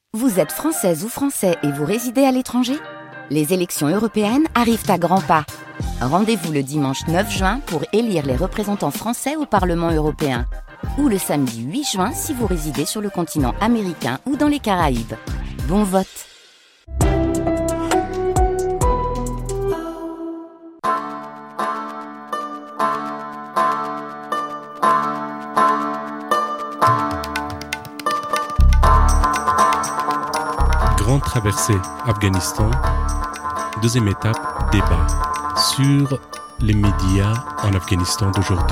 Vous êtes française ou français et vous résidez à l'étranger ? Les élections européennes arrivent à grands pas. Rendez-vous le dimanche 9 juin pour élire les représentants français au Parlement européen. Ou le samedi 8 juin si vous résidez sur le continent américain ou dans les Caraïbes. Bon vote! Grande traversée Afghanistan, deuxième étape, débat sur les médias en Afghanistan d'aujourd'hui.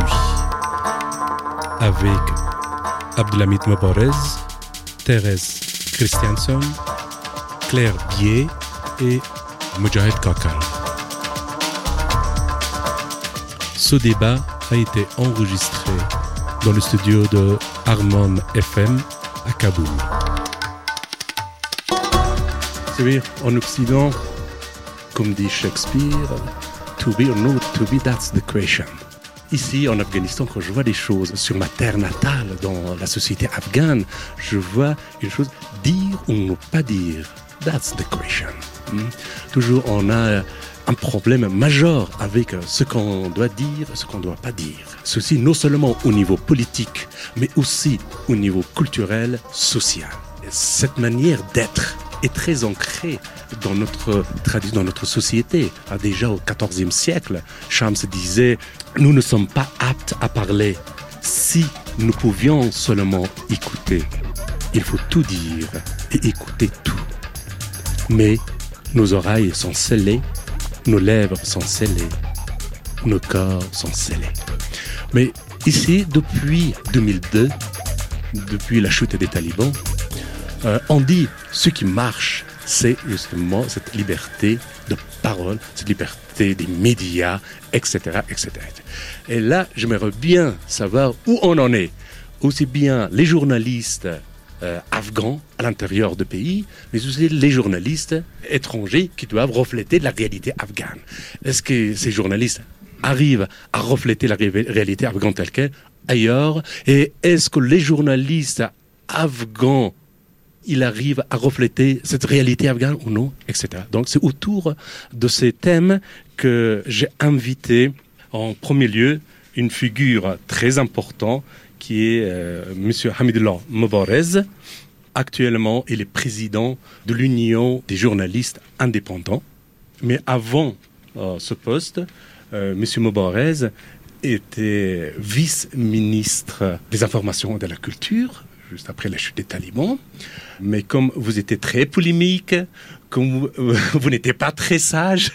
Avec Abdelhamid Mobarez, Thérèse Christiansen, Claire Bier et Moudjahid Kakal. Ce débat a été enregistré dans le studio de Harmon FM à Kaboul. Vous savez, en Occident, comme dit Shakespeare, to be or not to be, that's the question. Ici, en Afghanistan, quand je vois des choses sur ma terre natale, dans la société afghane, je vois une chose, dire ou ne pas dire, that's the question. Toujours, on a un problème majeur avec ce qu'on doit dire et ce qu'on ne doit pas dire. Ceci non seulement au niveau politique, mais aussi au niveau culturel, social. Et cette manière d'être est très ancré dans notre tradition, dans notre société. Déjà au XIVe siècle, Shams disait « Nous ne sommes pas aptes à parler si nous pouvions seulement écouter. Il faut tout dire et écouter tout. Mais nos oreilles sont scellées, nos lèvres sont scellées, nos corps sont scellés. » Mais ici, depuis 2002, depuis la chute des talibans, on dit ce qui marche, c'est justement cette liberté de parole, cette liberté des médias, etc., etc. Et là, j'aimerais bien savoir où on en est. Aussi bien les journalistes afghans à l'intérieur du pays, mais aussi les journalistes étrangers qui doivent refléter la réalité afghane. Est-ce que ces journalistes arrivent à refléter la réalité afghane telle qu'elle ailleurs? Et est-ce que les journalistes afghans il arrive à refléter cette réalité afghane ou non, etc. Donc c'est autour de ces thèmes que j'ai invité en premier lieu une figure très importante qui est M. Hamidullah Mobarez. Actuellement, il est président de l'Union des journalistes indépendants. Mais avant ce poste, M. Mobarez était vice-ministre des informations et de la culture, juste après la chute des talibans. Mais comme vous étiez très polémique, comme vous n'étiez pas très sage,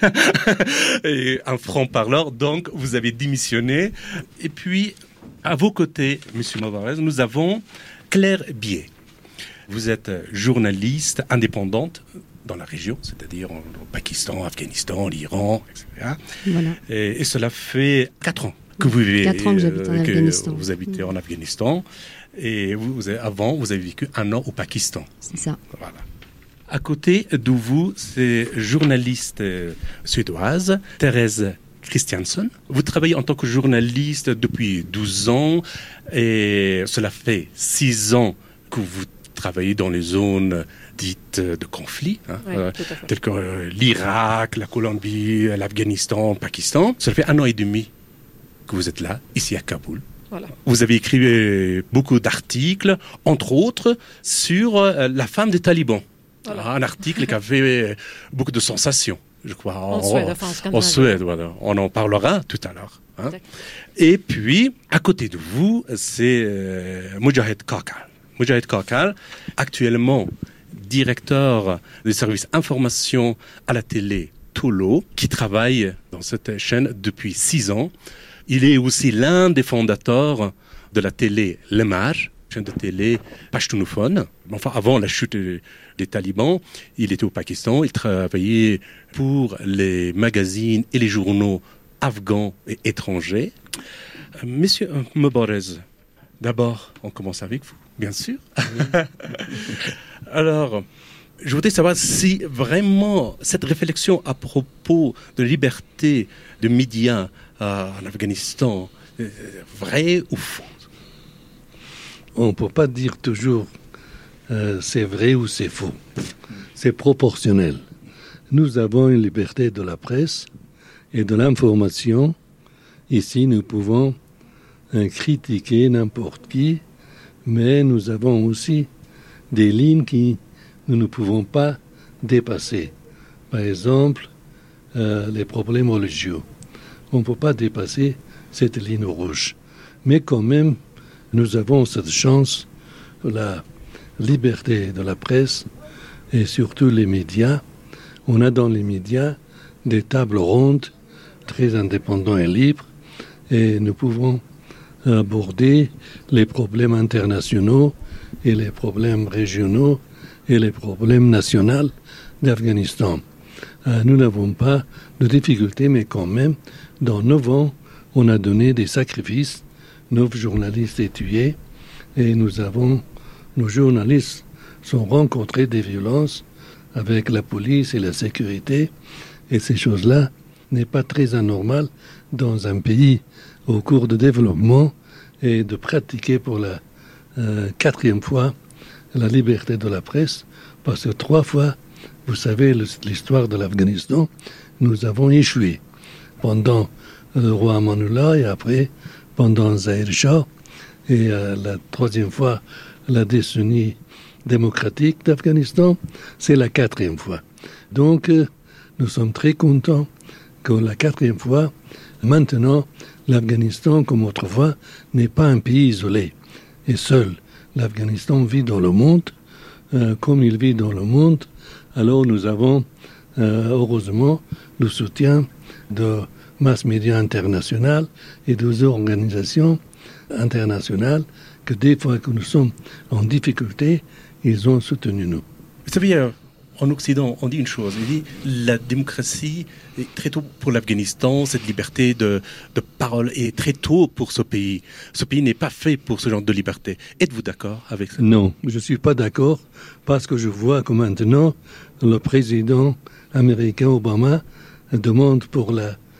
et un franc-parleur, donc vous avez démissionné. Et puis, à vos côtés, M. Mobarez, nous avons Claire Bier. Vous êtes journaliste indépendante dans la région, c'est-à-dire au Pakistan, Afghanistan, l'Iran, etc. Voilà. Et cela fait 4 ans que vous vivez. 4 ans que j'habite en Afghanistan. Vous habitez en Afghanistan. Et avant, vous avez vécu 1 an au Pakistan. C'est ça. Voilà. À côté de vous, c'est journaliste suédoise, Thérèse Christiansen. Vous travaillez en tant que journaliste depuis 12 ans et cela fait 6 ans que vous travaillez dans les zones dites de conflit, telles que l'Irak, la Colombie, l'Afghanistan, le Pakistan. Cela fait 1 an et demi que vous êtes là, ici à Kaboul. Voilà. Vous avez écrit beaucoup d'articles, entre autres, sur la femme des talibans. Voilà. Un article qui a fait beaucoup de sensations, je crois. En Suède, voilà. On en parlera tout à l'heure. Et puis, à côté de vous, c'est Moudjahid Kakal. Moudjahid Kakal, actuellement directeur du service information à la télé Tolo, qui travaille dans cette chaîne depuis 6 ans. Il est aussi l'un des fondateurs de la télé Lemaj, chaîne de télé pashtunophone. Enfin, avant la chute des talibans, il était au Pakistan. Il travaillait pour les magazines et les journaux afghans et étrangers. Monsieur Mobarez, d'abord, on commence avec vous, bien sûr. Alors, je voudrais savoir si vraiment cette réflexion à propos de liberté de médias en Afghanistan, vrai ou faux? On ne peut pas dire toujours c'est vrai ou c'est faux. C'est proportionnel. Nous avons une liberté de la presse et de l'information. Ici, nous pouvons critiquer n'importe qui, mais nous avons aussi des lignes que nous ne pouvons pas dépasser. Par exemple, les problèmes religieux. On ne peut pas dépasser cette ligne rouge. Mais quand même, nous avons cette chance, la liberté de la presse et surtout les médias. On a dans les médias des tables rondes très indépendants et libres et nous pouvons aborder les problèmes internationaux et les problèmes régionaux et les problèmes nationaux d'Afghanistan. Nous n'avons pas de difficultés, mais quand même, dans 9 ans, on a donné des sacrifices. 9 journalistes étaient tués et nos journalistes sont rencontrés des violences avec la police et la sécurité. Et ces choses-là n'est pas très anormal dans un pays au cours de développement et de pratiquer pour la 4e fois la liberté de la presse, parce que 3 fois, vous savez, l'histoire de l'Afghanistan, nous avons échoué. Pendant le roi Amanullah et après, pendant Zahir Shah, et la 3e fois, la décennie démocratique d'Afghanistan, c'est la 4e fois. Donc, nous sommes très contents que la 4e fois, maintenant, l'Afghanistan, comme autrefois, n'est pas un pays isolé et seul. L'Afghanistan vit dans le monde, comme il vit dans le monde. Alors nous avons, heureusement, le soutien de mass médias internationales et des organisations internationales que des fois que nous sommes en difficulté, ils ont soutenu nous. Vous savez, en Occident, on dit une chose, on dit la démocratie est très tôt pour l'Afghanistan, cette liberté de parole est très tôt pour ce pays. Ce pays n'est pas fait pour ce genre de liberté. Êtes-vous d'accord avec ça? Non, je ne suis pas d'accord parce que je vois que maintenant, le président américain Obama demande pour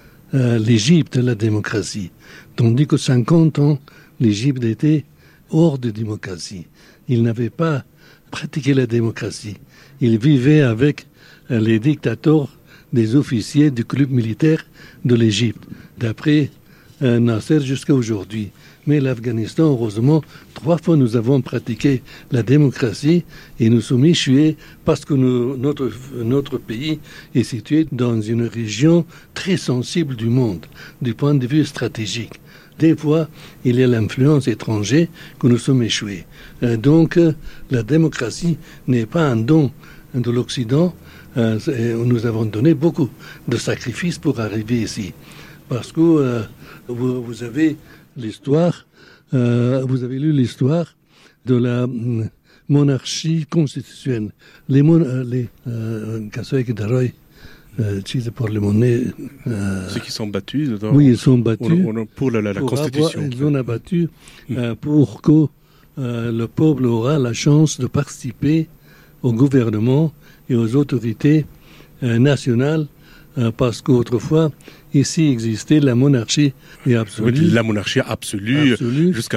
l'Égypte la démocratie. Tandis que 50 ans, l'Égypte était hors de démocratie. Il n'avait pas pratiqué la démocratie. Il vivait avec les dictateurs des officiers du club militaire de l'Égypte, d'après Nasser jusqu'à aujourd'hui. Mais l'Afghanistan, heureusement, 3 fois nous avons pratiqué la démocratie et nous sommes échoués parce que notre pays est situé dans une région très sensible du monde, du point de vue stratégique. Des fois, il y a l'influence étrangère que nous sommes échoués. Donc, la démocratie n'est pas un don de l'Occident. Nous avons donné beaucoup de sacrifices pour arriver ici. Parce que vous avez l'histoire, vous avez lu l'histoire de la monarchie constitutionnelle. Ceux qui sont battus oui, ils sont battus pour la Constitution. Ils ont abattu pour que le peuple aura la chance de participer au gouvernement et aux autorités nationales, parce qu'autrefois, ici existait la monarchie absolue. Oui, la monarchie absolue jusqu'à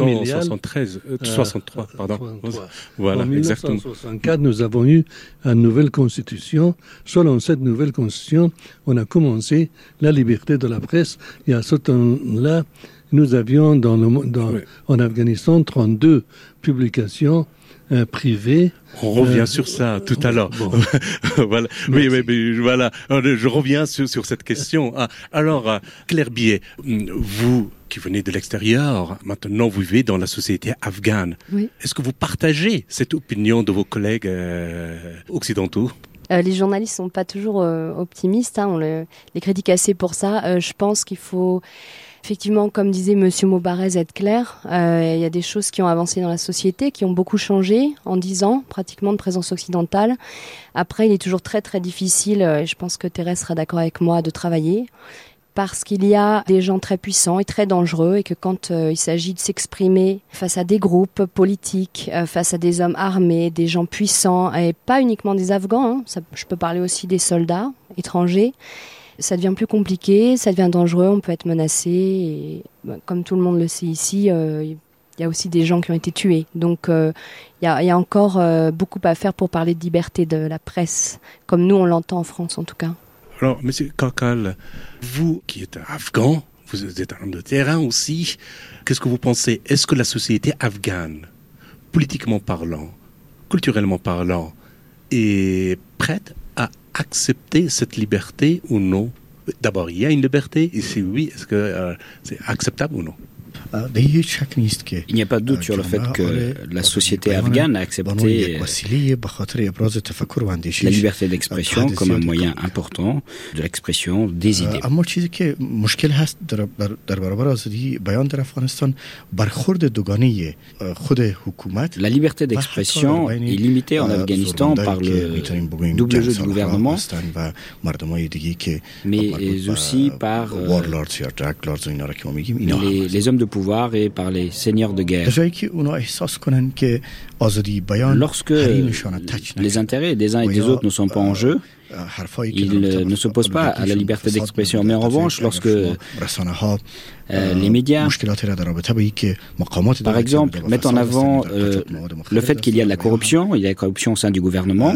1963, pardon. 63. Voilà, en 1964, nous avons eu une nouvelle constitution. Selon cette nouvelle constitution, on a commencé la liberté de la presse. Et à ce temps-là, nous avions en Afghanistan 32 publications privées. On revient sur ça tout à l'heure. Bon. Voilà. Mais voilà. Je reviens sur cette question. Alors, Claire Billet, vous qui venez de l'extérieur, maintenant vous vivez dans la société afghane. Oui. Est-ce que vous partagez cette opinion de vos collègues occidentaux? Les journalistes sont pas toujours optimistes. On les critique assez pour ça. Je pense qu'il faut... Effectivement, comme disait Monsieur Mobarez, être clair, il y a des choses qui ont avancé dans la société, qui ont beaucoup changé en 10 ans, pratiquement, de présence occidentale. Après, il est toujours très très difficile, et je pense que Thérèse sera d'accord avec moi, de travailler, parce qu'il y a des gens très puissants et très dangereux, et que quand il s'agit de s'exprimer face à des groupes politiques, face à des hommes armés, des gens puissants, et pas uniquement des Afghans, je peux parler aussi des soldats étrangers, ça devient plus compliqué, ça devient dangereux, on peut être menacé. Et, comme tout le monde le sait ici, Il y a aussi des gens qui ont été tués. Donc il y a encore beaucoup à faire pour parler de liberté de la presse, comme nous on l'entend en France en tout cas. Alors, Monsieur Kakal, vous qui êtes afghan, vous êtes un homme de terrain aussi, qu'est-ce que vous pensez? Est-ce que la société afghane, politiquement parlant, culturellement parlant, est prête à accepter cette liberté ou non? D'abord, il y a une liberté, et si oui, est-ce que c'est acceptable ou non? Il n'y a pas de doute sur le fait que la société afghane a accepté la liberté d'expression comme un moyen important de l'expression des idées. La liberté d'expression est limitée en Afghanistan par le double jeu du gouvernement, mais aussi par les hommes de pouvoir et par les seigneurs de guerre. Lorsque les intérêts des uns et des autres ne sont pas en jeu, ils ne s'opposent pas à la liberté d'expression. Mais en revanche, lorsque les médias, par exemple, mettent en avant le fait qu'il y a de la corruption, il y a de la corruption au sein du gouvernement,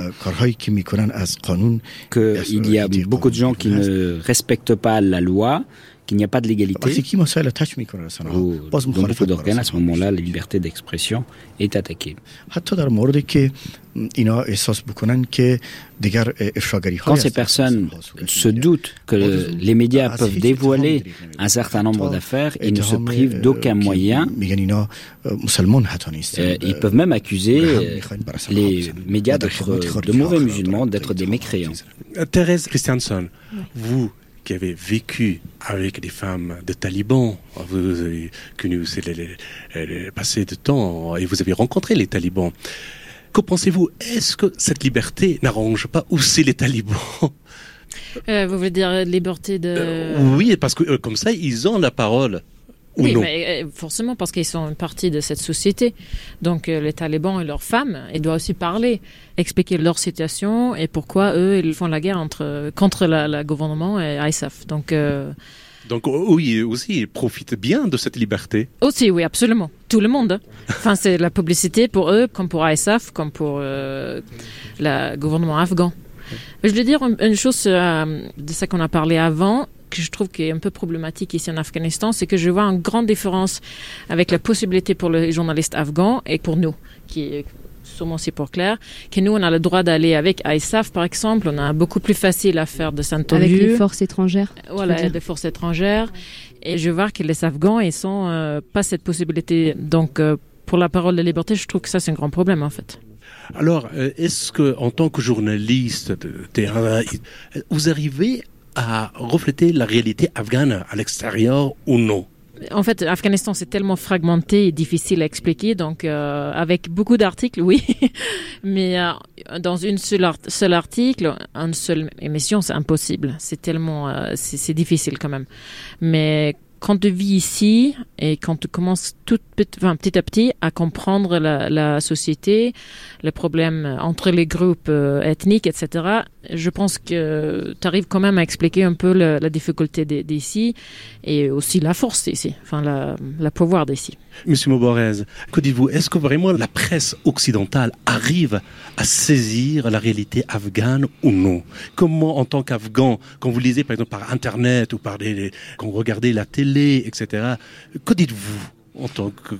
qu'il y a beaucoup de gens qui ne respectent pas la loi, qu'il n'y a pas de légalité, ou dans beaucoup d'organes, à ce moment-là, la liberté d'expression est attaquée. Quand ces personnes se doutent que les médias peuvent dévoiler un certain nombre d'affaires, ils ne se privent d'aucun moyen. Ils peuvent même accuser les médias d'être de mauvais musulmans, d'être des mécréants. Thérèse Christiansen, vous qui avez vécu avec des femmes de talibans, vous avez connu le passé de temps et vous avez rencontré les talibans. Que pensez-vous? Est-ce que cette liberté n'arrange pas aussi les talibans? Vous voulez dire liberté de... Oui, parce que comme ça, ils ont la parole. Oui, mais forcément parce qu'ils sont une partie de cette société. Donc les talibans et leurs femmes, ils doivent aussi parler, expliquer leur situation et pourquoi eux, ils font la guerre contre le gouvernement et ISAF. Donc oui, aussi, ils profitent bien de cette liberté. Aussi, oui, absolument. Tout le monde. Enfin, c'est la publicité pour eux, comme pour ISAF, comme pour le gouvernement afghan. Je voulais dire une chose de ça qu'on a parlé avant, que je trouve qui est un peu problématique ici en Afghanistan, c'est que je vois une grande différence avec la possibilité pour les journalistes afghans et pour nous, qui est sûrement c'est pour Claire, que nous on a le droit d'aller avec ISAF par exemple, on a beaucoup plus facile à faire de Saint-Olieu. Avec les forces étrangères. Voilà, des forces étrangères. Et je vois que les Afghans, ils sont pas cette possibilité. Donc pour la parole de liberté, je trouve que ça c'est un grand problème en fait. Alors, est-ce que en tant que journaliste de terrain, vous arrivez à refléter la réalité afghane à l'extérieur ou non? En fait, l'Afghanistan, c'est tellement fragmenté et difficile à expliquer. Donc, avec beaucoup d'articles, oui. Mais dans une seul article, une seule émission, c'est impossible. C'est tellement... c'est difficile quand même. Mais quand tu vis ici et quand tu commences petit à petit à comprendre la société, les problèmes entre les groupes ethniques, etc., je pense que tu arrives quand même à expliquer un peu la difficulté d'ici et aussi la force d'ici, enfin la pouvoir d'ici. Monsieur Mobarez, que dites-vous? Est-ce que vraiment la presse occidentale arrive à saisir la réalité afghane ou non? Comment, en tant qu'Afghan, quand vous lisez par exemple par Internet ou quand vous regardez la télé, etc., que dites-vous en tant que...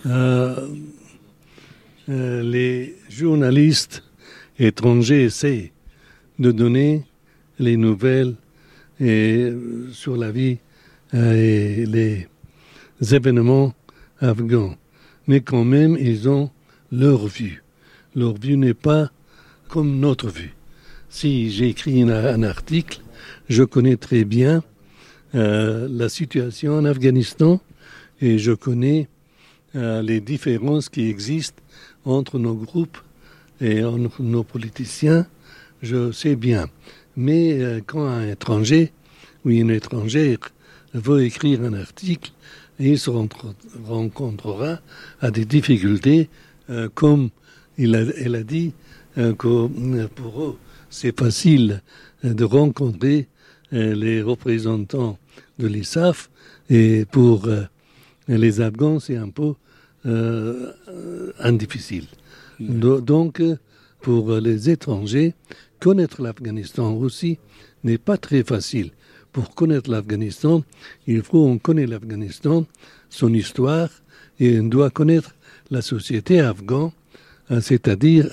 Les journalistes étrangers essaient de donner les nouvelles sur la vie et les événements afghans. Mais quand même, ils ont leur vue. Leur vue n'est pas comme notre vue. Si j'écris un article, je connais très bien la situation en Afghanistan et je connais les différences qui existent entre nos groupes et entre nos politiciens, je sais bien. Mais quand un étranger ou une étrangère veut écrire un article, il se rencontrera à des difficultés, comme elle a dit, que pour eux, c'est facile de rencontrer les représentants de l'ISAF, et pour les Afghans, c'est un peu difficile. Donc, pour les étrangers, connaître l'Afghanistan aussi n'est pas très facile. Pour connaître l'Afghanistan, il faut qu'on connaisse l'Afghanistan, son histoire, et on doit connaître la société afghane, c'est-à-dire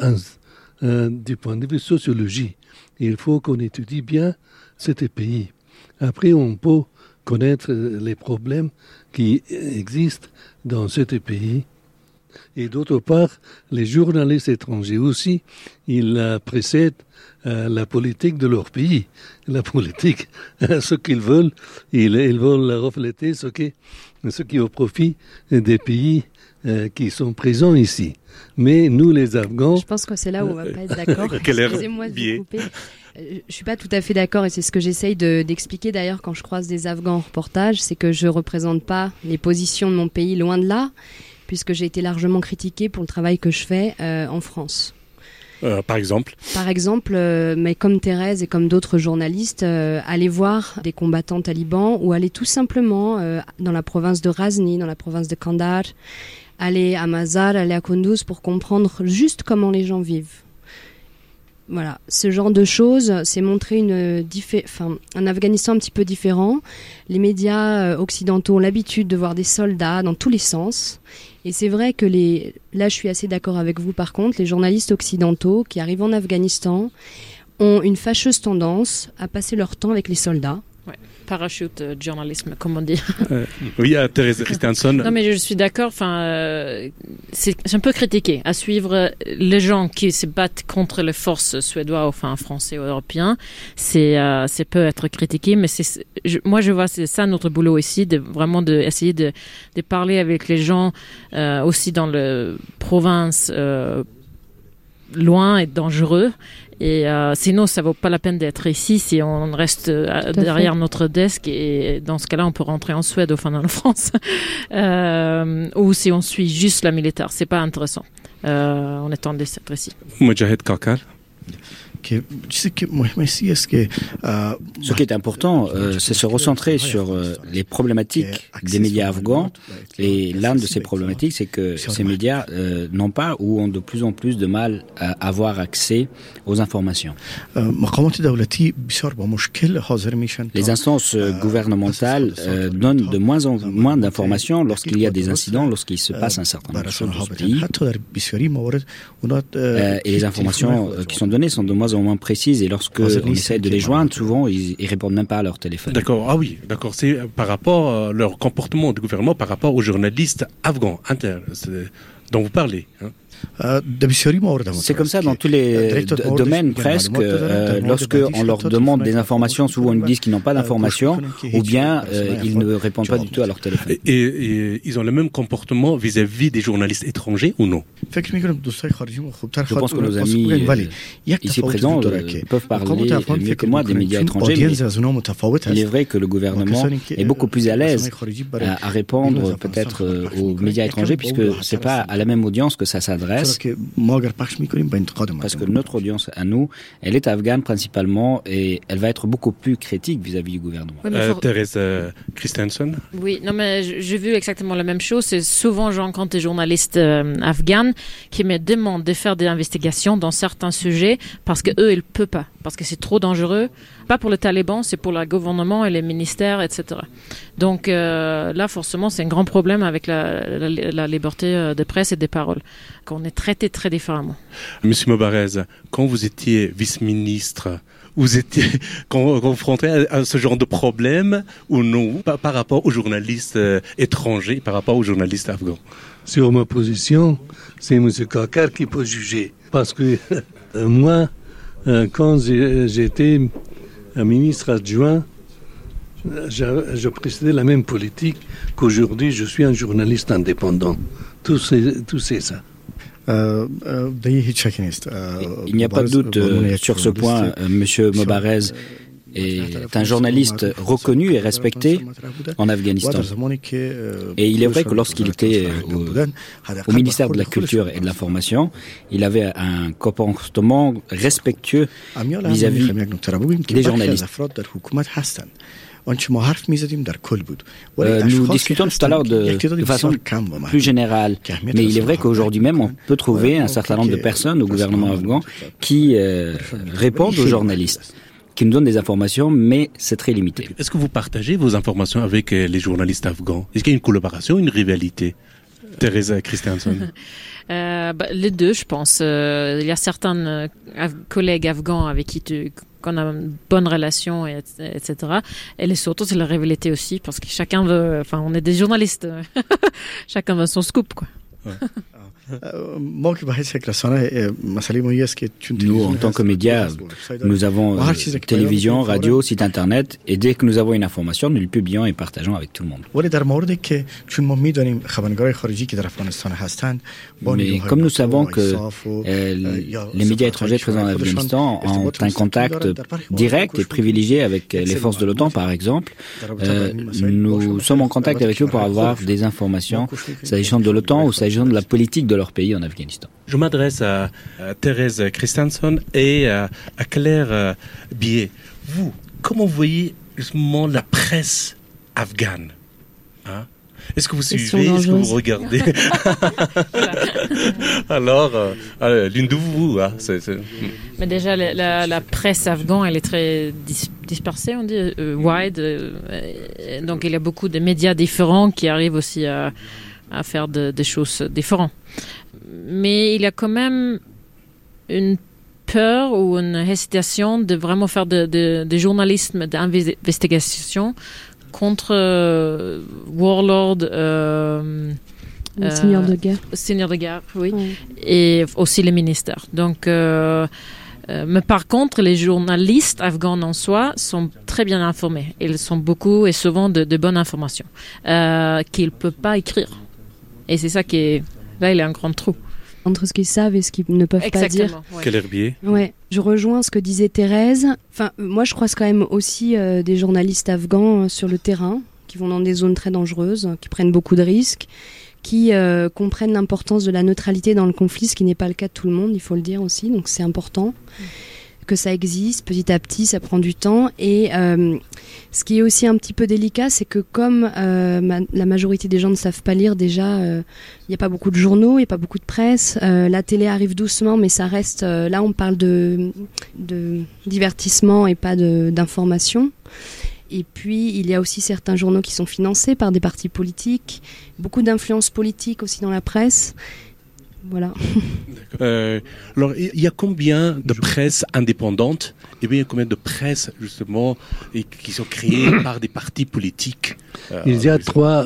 du point de vue sociologie. Il faut qu'on étudie bien ce pays. Après, on peut connaître les problèmes qui existent dans ce pays. Et d'autre part, les journalistes étrangers aussi, ils précèdent la politique de leur pays. La politique, ce qu'ils veulent, ils veulent refléter ce qui est au profit des pays qui sont présents ici. Mais nous, les Afghans... Je pense que c'est là où on ne va pas être d'accord. Excusez-moi de vous couper. Je ne suis pas tout à fait d'accord et c'est ce que j'essaye d'expliquer d'ailleurs quand je croise des Afghans en reportage, c'est que je ne représente pas les positions de mon pays, loin de là, puisque j'ai été largement critiquée pour le travail que je fais en France. Par exemple, mais comme Thérèse et comme d'autres journalistes, aller voir des combattants talibans ou aller tout simplement dans la province de Ghazni, dans la province de Kandahar, aller à Mazar, aller à Kunduz pour comprendre juste comment les gens vivent. Voilà, ce genre de choses, c'est montrer un Afghanistan un petit peu différent. Les médias occidentaux ont l'habitude de voir des soldats dans tous les sens. Et c'est vrai que là je suis assez d'accord avec vous par contre, les journalistes occidentaux qui arrivent en Afghanistan ont une fâcheuse tendance à passer leur temps avec les soldats. Ouais. Parachute journalisme, comme on dit. Oui, Thérèse Christensen. Non, mais je suis d'accord. C'est un peu critiqué à suivre les gens qui se battent contre les forces suédoises, français ou européens. C'est peut être critiqué, mais moi je vois c'est ça notre boulot ici, essayer de parler avec les gens aussi dans les provinces loin et dangereux. Et sinon, ça vaut pas la peine d'être ici si on reste derrière notre desk. Et dans ce cas-là, on peut rentrer en Suède ou en France. Ou si on suit juste la militaire. C'est pas intéressant. On est en d'être ici. Moudjahid Kakar. Ce qui est important, c'est se recentrer sur les problématiques des médias afghans. Et l'une de ces problématiques, c'est que ces médias n'ont pas ou ont de plus en plus de mal à avoir accès aux informations. Les instances gouvernementales donnent de moins en moins d'informations lorsqu'il y a des incidents, lorsqu'il se passe un certain nombre de choses dans ce pays. Et les informations qui sont données sont de moins en moins précises, et lorsque on essaie de les joindre, souvent ils répondent même pas à leur téléphone. D'accord, ah oui, d'accord, c'est par rapport à leur comportement du gouvernement par rapport aux journalistes afghans dont vous parlez. C'est comme ça dans tous les domaines presque. Lorsque on leur demande des informations, souvent ils disent qu'ils n'ont pas d'informations, ou bien ils ne répondent pas du tout à leur téléphone. Et ils ont le même comportement vis-à-vis des journalistes étrangers ou non? Je pense que nos amis ici présents peuvent parler mieux que moi des médias étrangers, mais il est vrai que le gouvernement est beaucoup plus à l'aise à répondre peut-être aux médias étrangers, puisque c'est pas à la même audience que ça s'adresse. Parce que notre audience à nous, elle est afghane principalement, et elle va être beaucoup plus critique vis-à-vis du gouvernement. Oui, Thérèse Christensen. Oui, non mais j'ai vu exactement la même chose. C'est souvent je rencontre des journalistes afghans qui me demandent de faire des investigations dans certains sujets parce que eux ils peuvent pas, parce que c'est trop dangereux. Pas pour les talibans, c'est pour le gouvernement et les ministères, etc. Donc là, forcément, c'est un grand problème avec la liberté de presse et des paroles, qu'on est traité très différemment. Monsieur Mobarez, quand vous étiez vice-ministre, vous étiez confronté à ce genre de problème ou non, par rapport aux journalistes étrangers, par rapport aux journalistes afghans? Sur ma position, c'est M. Kakar qui peut juger. Parce que moi, quand j'étais un ministre adjoint, je précédais la même politique qu'aujourd'hui. Je suis un journaliste indépendant. Tout c'est ça. Il n'y a pas de doute sur ce point. Monsieur Mobarez est un journaliste reconnu et respecté en Afghanistan. Et il est vrai que lorsqu'il était au ministère de la Culture et de l'Information, il avait un comportement respectueux vis-à-vis des journalistes. Nous discutons tout à l'heure de façon plus générale, mais il est vrai qu'aujourd'hui même, on peut trouver un certain nombre de personnes au gouvernement afghan qui répondent aux journalistes, qui nous donnent des informations, mais c'est très limité. Est-ce que vous partagez vos informations avec les journalistes afghans? Est-ce qu'il y a une collaboration, une rivalité? Teresa Christianson. Les deux, je pense. Il y a certains collègues afghans avec qui qu'on a une bonne relation, etc. Et les autres, c'est la rivalité aussi, parce que chacun veut... Enfin, on est des journalistes. Chacun veut son scoop, quoi. Ouais. Nous, en tant que médias, nous avons télévision, radio, site internet, et dès que nous avons une information, nous le publions et partageons avec tout le monde. Mais comme nous savons que les médias étrangers présents en Afghanistan ont un contact direct et privilégié avec les forces de l'OTAN, par exemple, nous sommes en contact avec eux pour avoir des informations s'agissant de l'OTAN ou s'agissant de la politique de leur pays en Afghanistan. Je m'adresse à Thérèse Christianson et à Claire Billet. Vous, comment vous voyez justement la presse afghane? Est-ce que vous suivez? Est-ce que vous regardez? Alors, l'une de vous, Mais déjà, la presse afghane, elle est très dispersée, on dit, wide. Donc, il y a beaucoup de médias différents qui arrivent aussi à faire des choses différentes. Mais il y a quand même une peur ou une hésitation de vraiment faire de journalisme d'investigation contre warlord, seigneur de guerre. Seigneur de guerre, oui, et aussi les ministères. Donc, mais par contre, les journalistes afghans en soi sont très bien informés. Ils sont beaucoup et souvent de bonnes informations qu'ils ne peuvent pas écrire. Et c'est ça qui est... Là, il y a un grand trou. Entre ce qu'ils savent et ce qu'ils ne peuvent pas dire. Ouais. Quel herbier. Ouais, je rejoins ce que disait Thérèse. Enfin, moi, je croise quand même aussi des journalistes afghans sur le terrain, qui vont dans des zones très dangereuses, qui prennent beaucoup de risques, qui comprennent l'importance de la neutralité dans le conflit, ce qui n'est pas le cas de tout le monde, il faut le dire aussi. Donc, c'est important que ça existe. Petit à petit, ça prend du temps. Et ce qui est aussi un petit peu délicat, c'est que comme la majorité des gens ne savent pas lire déjà, il n'y a pas beaucoup de journaux, il n'y a pas beaucoup de presse. La télé arrive doucement, mais ça reste... là, on parle de divertissement et pas d'information. Et puis, il y a aussi certains journaux qui sont financés par des partis politiques, beaucoup d'influence politique aussi dans la presse. Voilà. Alors, il y a combien de presse indépendante et bien combien de presse, justement, qui sont créées par des partis politiques? Il y a trois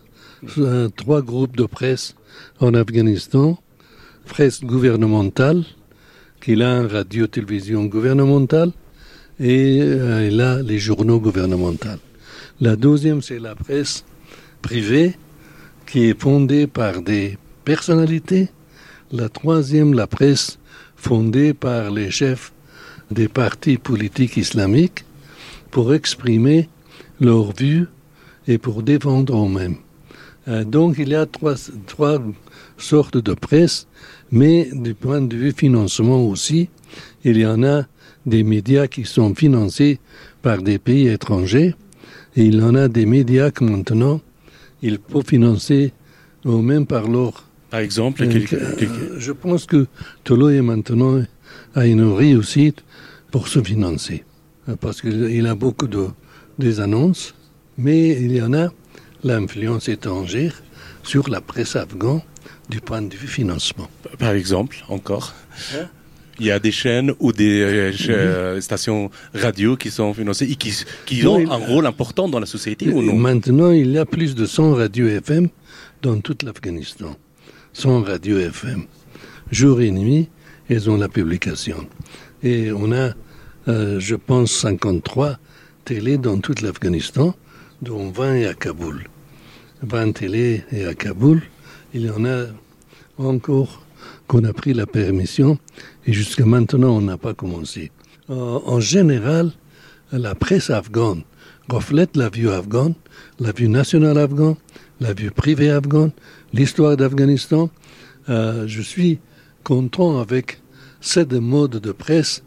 groupes de presse en Afghanistan. Presse gouvernementale, qui a une radio-télévision gouvernementale, et il a les journaux gouvernementaux. La deuxième, c'est la presse privée, qui est fondée par des personnalités. La troisième, la presse fondée par les chefs des partis politiques islamiques pour exprimer leurs vues et pour défendre eux-mêmes. Donc il y a trois sortes de presse, mais du point de vue financement aussi, il y en a des médias qui sont financés par des pays étrangers et il y en a des médias que maintenant il faut financer eux-mêmes par leur... Par exemple, je pense que Toloy maintenant a une réussite pour se financer. Parce qu'il a beaucoup des annonces, mais il y en a l'influence étrangère sur la presse afghane du point de vue financement. Par exemple, encore il y a des chaînes ou des stations radio qui sont financées et qui ont un rôle important dans la société ou non? Maintenant, il y a plus de 100 radios FM dans tout l'Afghanistan. 100 radios FM. Jour et nuit, elles ont la publication. Et on a, je pense, 53 télés dans tout l'Afghanistan, dont 20 à Kaboul. 20 télés et à Kaboul. Il y en a encore qu'on a pris la permission et jusqu'à maintenant, on n'a pas commencé. En général, la presse afghane reflète la vue afghane, la vue nationale afghane, la vue privée afghane, l'histoire d'Afghanistan. Je suis content avec cette mode de presse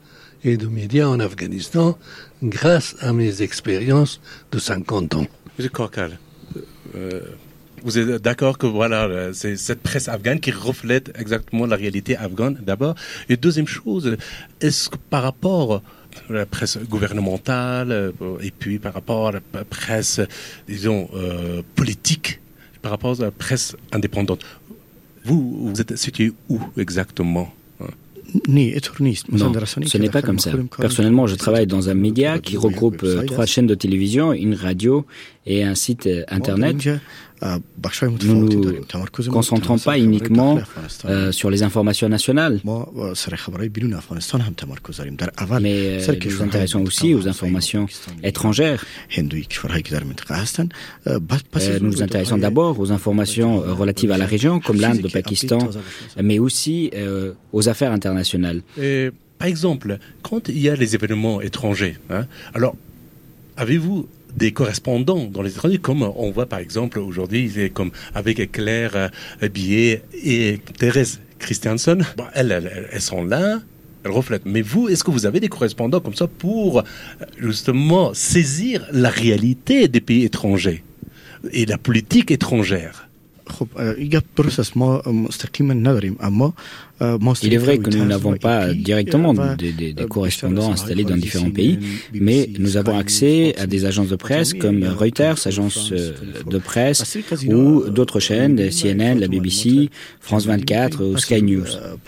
et de médias en Afghanistan grâce à mes expériences de 50 ans. Monsieur Korkal, vous êtes d'accord que voilà, c'est cette presse afghane qui reflète exactement la réalité afghane d'abord. Et deuxième chose, est-ce que par rapport à la presse gouvernementale et puis par rapport à la presse, disons, politique, par rapport à la presse indépendante, vous êtes situé où exactement ? Non, ce n'est pas comme ça. Personnellement, je travaille dans un média qui regroupe 3 chaînes de télévision, une radio et un site internet. Nous ne nous concentrons pas uniquement sur les informations nationales, mais nous nous intéressons aussi aux informations étrangères. Nous nous intéressons d'abord aux informations relatives à la région, comme l'Inde, le Pakistan, mais aussi aux affaires internationales. Et, par exemple, quand il y a les événements étrangers, alors, avez-vous des correspondants dans les étrangers, comme on voit par exemple aujourd'hui, comme avec Claire Billet et Thérèse Christiansen, elles sont là, elles reflètent. Mais vous, est-ce que vous avez des correspondants comme ça pour justement saisir la réalité des pays étrangers et la politique étrangère ? Il est vrai que nous n'avons pas directement des correspondants installés dans différents pays, mais nous avons accès à des agences de presse comme Reuters, agence de presse, ou d'autres chaînes, CNN, la BBC, France 24 ou Sky News.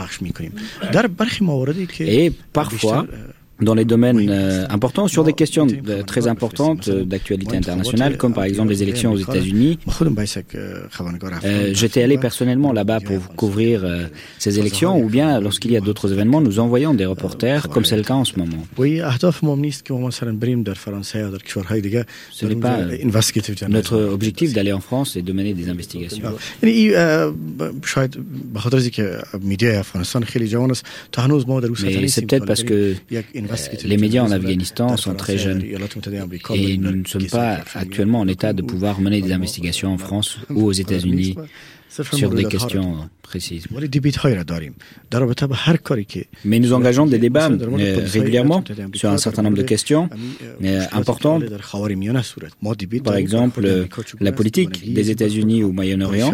Et parfois, dans les domaines importants, sur des questions très importantes d'actualité internationale, comme par exemple les élections aux États-Unis. J'étais allé personnellement là-bas pour couvrir ces élections, ou bien lorsqu'il y a d'autres événements, nous envoyons des reporters, comme c'est le cas en ce moment. Ce n'est pas notre objectif d'aller en France et de mener des investigations. Mais c'est peut-être parce que les médias en Afghanistan sont très jeunes et nous ne sommes pas actuellement en état de pouvoir mener des investigations en France ou aux États-Unis sur des questions précises. Mais nous engageons des débats régulièrement sur un certain nombre de questions importantes. Par exemple, la politique des États-Unis au Moyen-Orient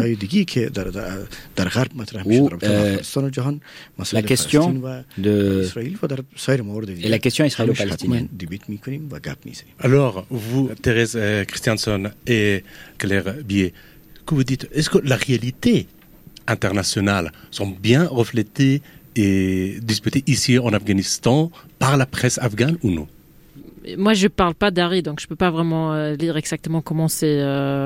ou la question et la question israélo-palestinienne. Alors, vous, Thérèse Christiansen et Claire Billet, que vous dites, est-ce que la réalité internationale sont bien reflétées et disputées ici en Afghanistan par la presse afghane ou non ? Moi, je ne parle pas d'Ari, donc je ne peux pas vraiment dire exactement comment c'est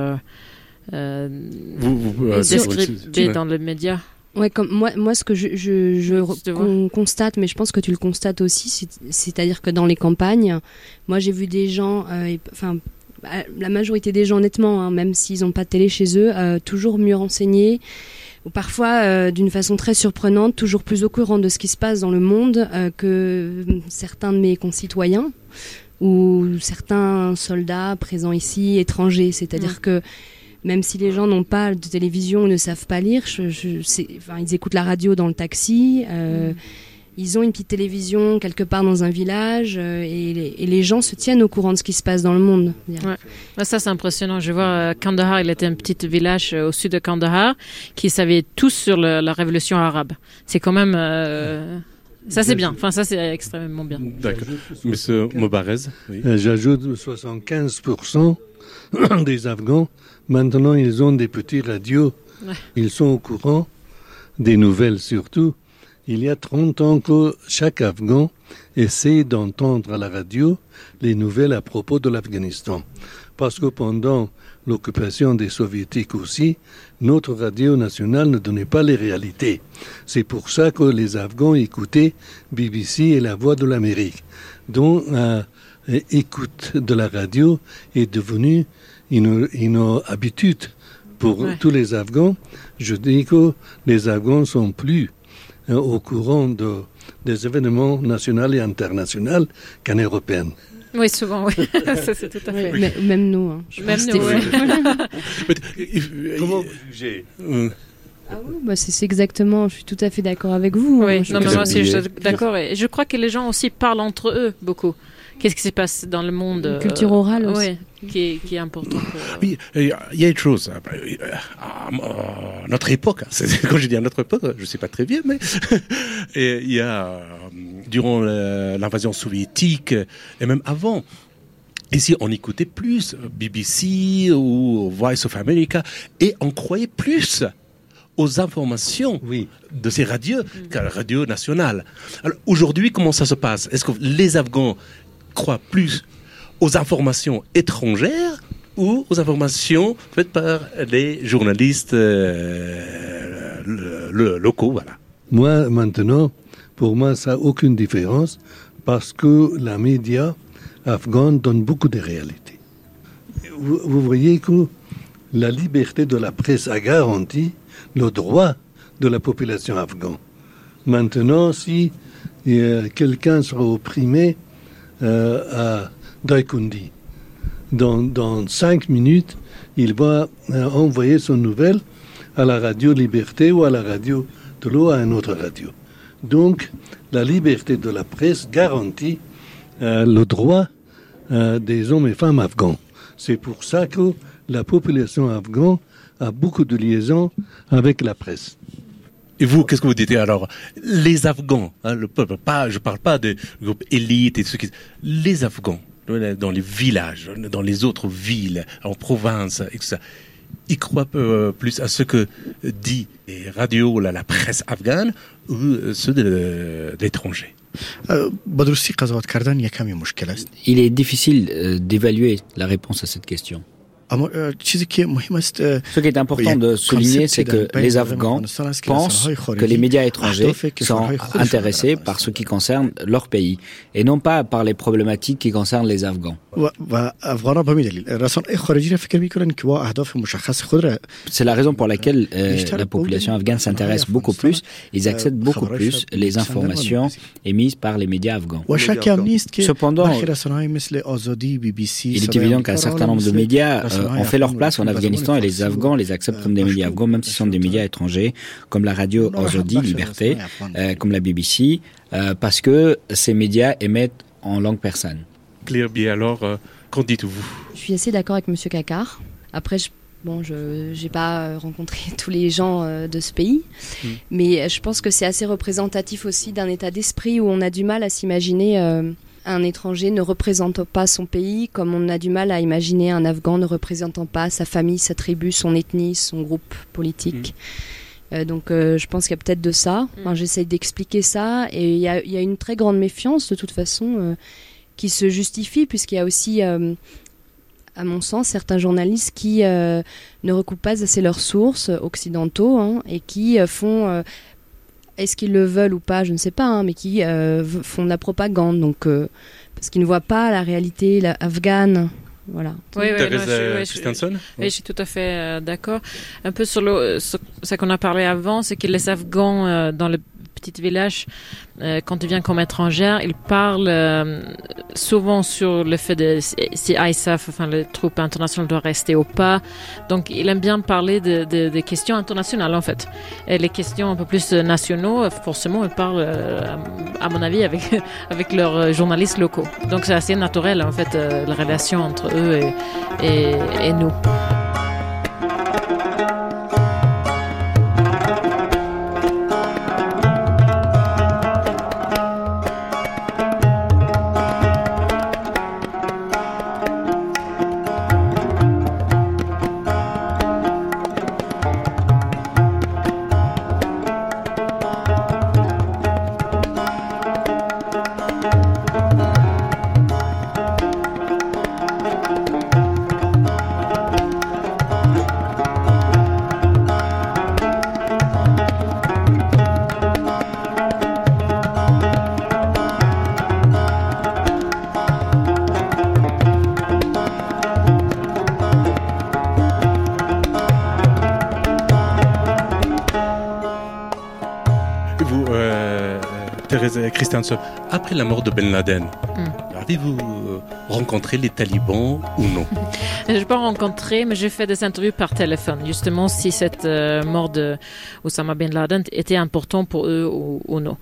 descripté dans les médias. Ouais, comme moi, ce que je constate, mais je pense que tu le constates aussi, c'est-à-dire que dans les campagnes, moi j'ai vu des gens, la majorité des gens, honnêtement, même s'ils n'ont pas de télé chez eux, toujours mieux renseignés, ou parfois d'une façon très surprenante, toujours plus au courant de ce qui se passe dans le monde que certains de mes concitoyens ou certains soldats présents ici, étrangers. C'est-à-dire que même si les gens n'ont pas de télévision ou ne savent pas lire, ils écoutent la radio dans le taxi, ils ont une petite télévision quelque part dans un village et les gens se tiennent au courant de ce qui se passe dans le monde. Ouais. Ça, c'est impressionnant. Je vois Kandahar, il était un petit village au sud de Kandahar qui savait tout sur la révolution arabe. C'est quand même... ça, c'est bien. Enfin, ça, c'est extrêmement bien. D'accord. Monsieur Mobarez. Oui. J'ajoute 75% des Afghans. Maintenant, ils ont des petits radios. Ouais. Ils sont au courant des nouvelles surtout. Il y a 30 ans que chaque Afghan essaie d'entendre à la radio les nouvelles à propos de l'Afghanistan. Parce que pendant l'occupation des Soviétiques aussi, notre radio nationale ne donnait pas les réalités. C'est pour ça que les Afghans écoutaient BBC et La Voix de l'Amérique, dont l'écoute de la radio est devenue une habitude pour tous les Afghans. Je dis que les Afghans sont plus au courant des événements nationaux et internationaux qu'en européenne. Oui, souvent, oui. Ça, c'est tout à fait. Oui. Même nous. Hein. Même nous, oui. Comment j'ai Ah oui, c'est exactement, je suis tout à fait d'accord avec vous. Oui, moi aussi je suis d'accord. Et je crois que les gens aussi parlent entre eux beaucoup. Qu'est-ce qui se passe dans le monde culture orale aussi. Qui est important. Oui, il y a une chose. À notre époque, quand je dis à notre époque, je ne sais pas très bien, mais il y a, durant l'invasion soviétique, et même avant, ici, on écoutait plus BBC ou Voice of America, et on croyait plus aux informations de ces radios qu'à la radio nationale. Alors, aujourd'hui, comment ça se passe? Est-ce que les Afghans croient plus aux informations étrangères ou aux informations faites par les journalistes locaux, voilà? Moi, maintenant, pour moi, ça n'a aucune différence parce que la média afghane donne beaucoup de réalités. Vous voyez que la liberté de la presse a garanti le droit de la population afghane. Maintenant, si quelqu'un sera opprimé à Daikundi, dans 5 minutes, il va envoyer son nouvelle à la radio Liberté ou à la radio de l'eau, à une autre radio. Donc, la liberté de la presse garantit le droit des hommes et femmes afghans. C'est pour ça que la population afghane a beaucoup de liaisons avec la presse. Et vous, qu'est-ce que vous dites alors? Les Afghans, le peuple, je ne parle pas des groupes élites et ceux qui... Les Afghans, dans les villages, dans les autres villes, en province, et tout ça, ils croient plus à ce que dit les radios, la presse afghane, ou ceux de l'étranger. Il est difficile d'évaluer la réponse à cette question. Ce qui est important de souligner, c'est que les Afghans pensent que les médias étrangers sont intéressés par ce qui concerne leur pays et non pas par les problématiques qui concernent les Afghans. C'est la raison pour laquelle la population afghane s'intéresse beaucoup plus, ils acceptent beaucoup plus les informations émises par les médias afghans. Cependant, il est évident qu'un certain nombre de médias ont fait leur place en Afghanistan et les Afghans les acceptent comme des médias afghans, même s'ils sont des médias étrangers, comme la radio Azadi, Liberté, comme la BBC, parce que ces médias émettent en langue persane. Claire Bier, alors, qu'en dites-vous? Je suis assez d'accord avec M. Kakar. Après, je n'ai pas rencontré tous les gens de ce pays, mais je pense que c'est assez représentatif aussi d'un état d'esprit où on a du mal à s'imaginer un étranger ne représentant pas son pays, comme on a du mal à imaginer un Afghan ne représentant pas sa famille, sa tribu, son ethnie, son groupe politique. Donc je pense qu'il y a peut-être de ça. Enfin, j'essaie d'expliquer ça, et il y a une très grande méfiance de toute façon qui se justifie, puisqu'il y a aussi, à mon sens, certains journalistes qui ne recoupent pas assez leurs sources occidentaux et qui font... est-ce qu'ils le veulent ou pas, je ne sais pas, mais qui font de la propagande, donc, parce qu'ils ne voient pas la réalité afghane. Voilà. Oui, je suis tout à fait d'accord. Un peu sur ce qu'on a parlé avant, c'est que les Afghans dans le petit village, quand ils viennent comme étrangers, ils parlent souvent sur le fait de si ISAF, enfin les troupes internationales doivent rester ou pas. Donc ils aiment bien parler des questions internationales en fait. Et les questions un peu plus nationaux, forcément ils parlent, à mon avis, avec leurs journalistes locaux. Donc c'est assez naturel en fait la relation entre eux et nous. Thérèse Christiansen, après la mort de Ben Laden, avez-vous rencontré les talibans ou non? Je n'ai pas rencontré, mais j'ai fait des interviews par téléphone, justement si cette mort de Osama Ben Laden était important pour eux ou non.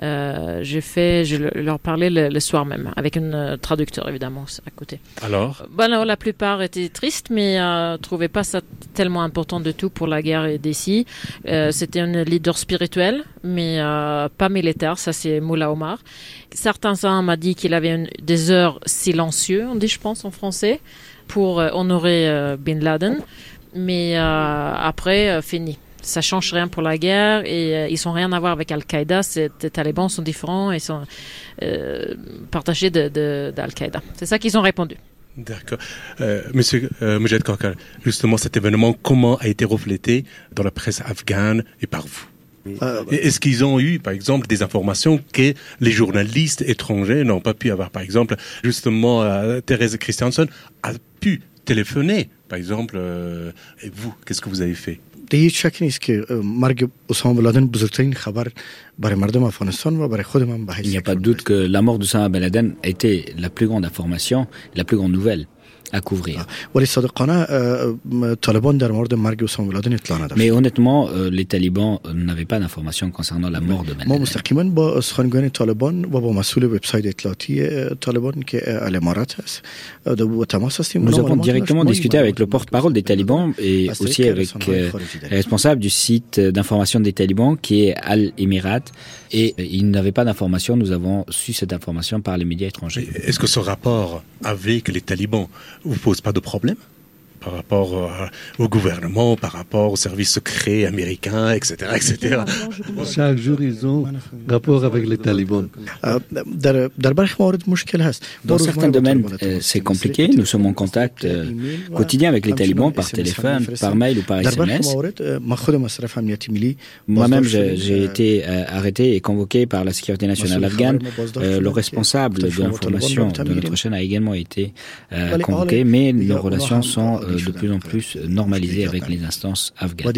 Je leur parlais le soir même, avec un traducteur évidemment à côté. Alors? Alors la plupart étaient tristes, mais ne trouvaient pas ça tellement important du tout pour la guerre d'ici. C'était un leader spirituel, mais pas militaire, ça c'est Moula Omar. Certains m'ont dit qu'il avait des heures silencieuses, on dit je pense en français, pour honorer Bin Laden, mais après, fini. Ça change rien pour la guerre et ils n'ont rien à voir avec Al-Qaïda. Les talibans sont différents et sont partagés d'Al-Qaïda. C'est ça qu'ils ont répondu. D'accord. Monsieur Mujahid Khakal, justement cet événement, comment a été reflété dans la presse afghane et par vous? Est-ce qu'ils ont eu, par exemple, des informations que les journalistes étrangers n'ont pas pu avoir? Par exemple, justement, Thérèse Christiansen a pu téléphoner, par exemple, et vous, qu'est-ce que vous avez fait? Il n'y a pas de doute que la mort d'Osama Ben Laden a été la plus grande information, la plus grande nouvelle à couvrir. Mais honnêtement, les talibans n'avaient pas d'informations concernant la mort de Ben Laden. Nous avons directement discuté avec le porte-parole des talibans et aussi avec le responsable du site d'information des talibans qui est Al-Emirat, et ils n'avaient pas d'informations. Nous avons su cette information par les médias étrangers. Est-ce que ce rapport avec les talibans vous pose pas de problème par rapport au gouvernement, par rapport aux services secrets américains, etc., etc. Chaque jour, ils ont rapport avec les talibans. Dans certains domaines, c'est compliqué. Nous sommes en contact quotidien avec les talibans par téléphone, par mail ou par SMS. Moi-même, j'ai été arrêté et convoqué par la sécurité nationale afghane. Le responsable de l'information de notre chaîne a également été convoqué, mais nos relations sont de plus en plus normalisées avec les instances afghanes.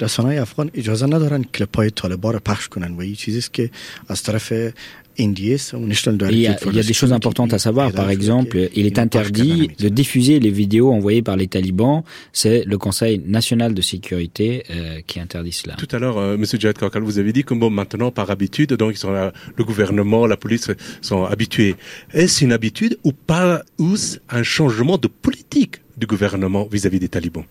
Il y a des choses importantes à savoir. Par exemple, il est interdit de diffuser les vidéos envoyées par les talibans. C'est le Conseil national de sécurité qui interdit cela. Tout à l'heure, Monsieur Jihad Khakal, vous avez dit que bon, maintenant, par habitude, donc le gouvernement, la police sont habitués. Est-ce une habitude ou pas, ou un changement de politique du gouvernement vis-à-vis des talibans?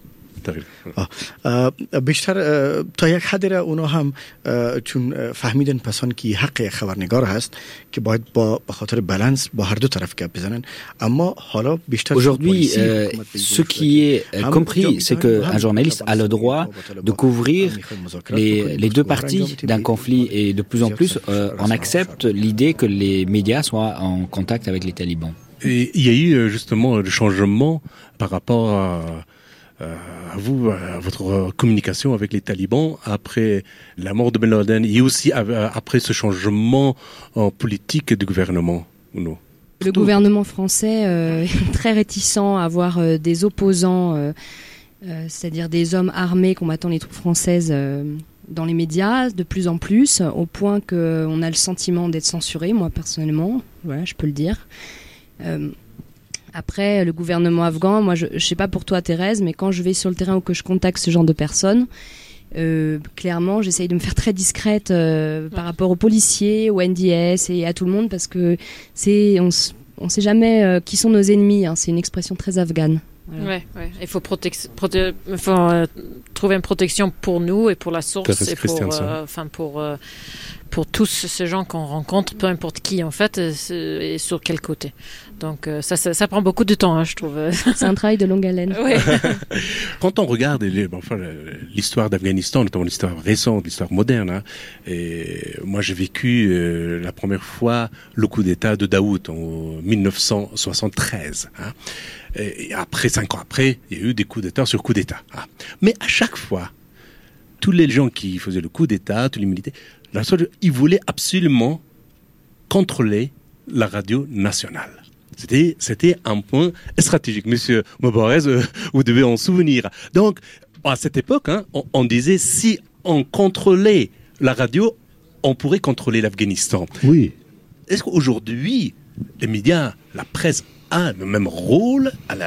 بیشتر تا یک حدی را اونا هم چون فهمیدن پسان که حق خبرنگار هست که باید به خاطر بالانس با هر دو طرف گپ بزنن اما حالا بیشتر Aujourd'hui, ce qui est compris, c'est qu'un journaliste a le droit de couvrir les deux parties d'un conflit et de plus en plus on accepte l'idée que les médias soient en contact avec les talibans. Et il y a eu justement le changement par rapport à vous, à votre communication avec les talibans après la mort de Ben Laden et aussi après ce changement en politique du gouvernement, ou non? Le gouvernement français est très réticent à avoir des opposants, c'est-à-dire des hommes armés combattant les troupes françaises dans les médias, de plus en plus, au point qu'on a le sentiment d'être censuré, moi personnellement, voilà, je peux le dire. Après, le gouvernement afghan, moi je sais pas pour toi Thérèse, mais quand je vais sur le terrain ou que je contacte ce genre de personnes, clairement j'essaye de me faire très discrète par rapport aux policiers, aux NDS et à tout le monde parce que on sait jamais qui sont nos ennemis, hein, c'est une expression très afghane. Voilà. Ouais. Il faut trouver une protection pour nous et pour la source et pour tous ces gens qu'on rencontre, peu importe qui en fait, et sur quel côté. Donc ça prend beaucoup de temps, hein, je trouve. C'est un travail de longue haleine. Ouais. Quand on regarde l'histoire d'Afghanistan, notamment l'histoire récente, l'histoire moderne, hein, et moi j'ai vécu la première fois le coup d'État de Daoud en 1973. Hein, et après, 5 ans après, il y a eu des coups d'État sur coups d'État. Hein. Mais à chaque fois, tous les gens qui faisaient le coup d'État, tous les militaires, ils voulaient absolument contrôler la radio nationale. C'était un point stratégique. Monsieur Mobarez, vous devez en souvenir. Donc, à cette époque, hein, on disait si on contrôlait la radio, on pourrait contrôler l'Afghanistan. Oui. Est-ce qu'aujourd'hui, les médias, la presse a le même rôle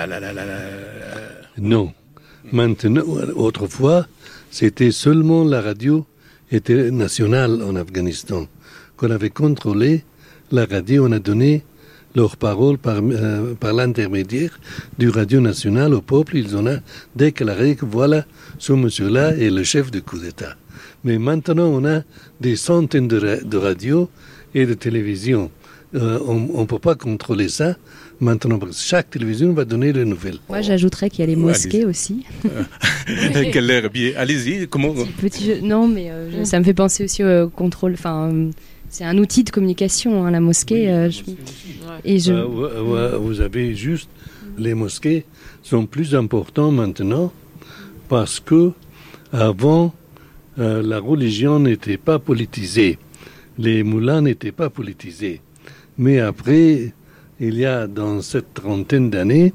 Non. Maintenant, autrefois, c'était seulement la radio était nationale en Afghanistan. Qu'on avait contrôlé, la radio, on a donné leur parole par l'intermédiaire du radio national au peuple. Ils ont déclaré que voilà, ce monsieur-là est le chef du coup d'État. Mais maintenant, on a des centaines de radios et de télévisions. On ne peut pas contrôler ça. Maintenant, chaque télévision va donner les nouvelles. Moi, j'ajouterais qu'il y a les mosquées aussi. Quel air bien. Allez-y, comment... Petit jeu. Non, mais ça me fait penser aussi au contrôle. Enfin, c'est un outil de communication, hein, la mosquée. Oui, vous avez juste... Les mosquées sont plus importantes maintenant parce que avant, la religion n'était pas politisée. Les moulins n'étaient pas politisés. Mais après... Il y a dans cette trentaine d'années,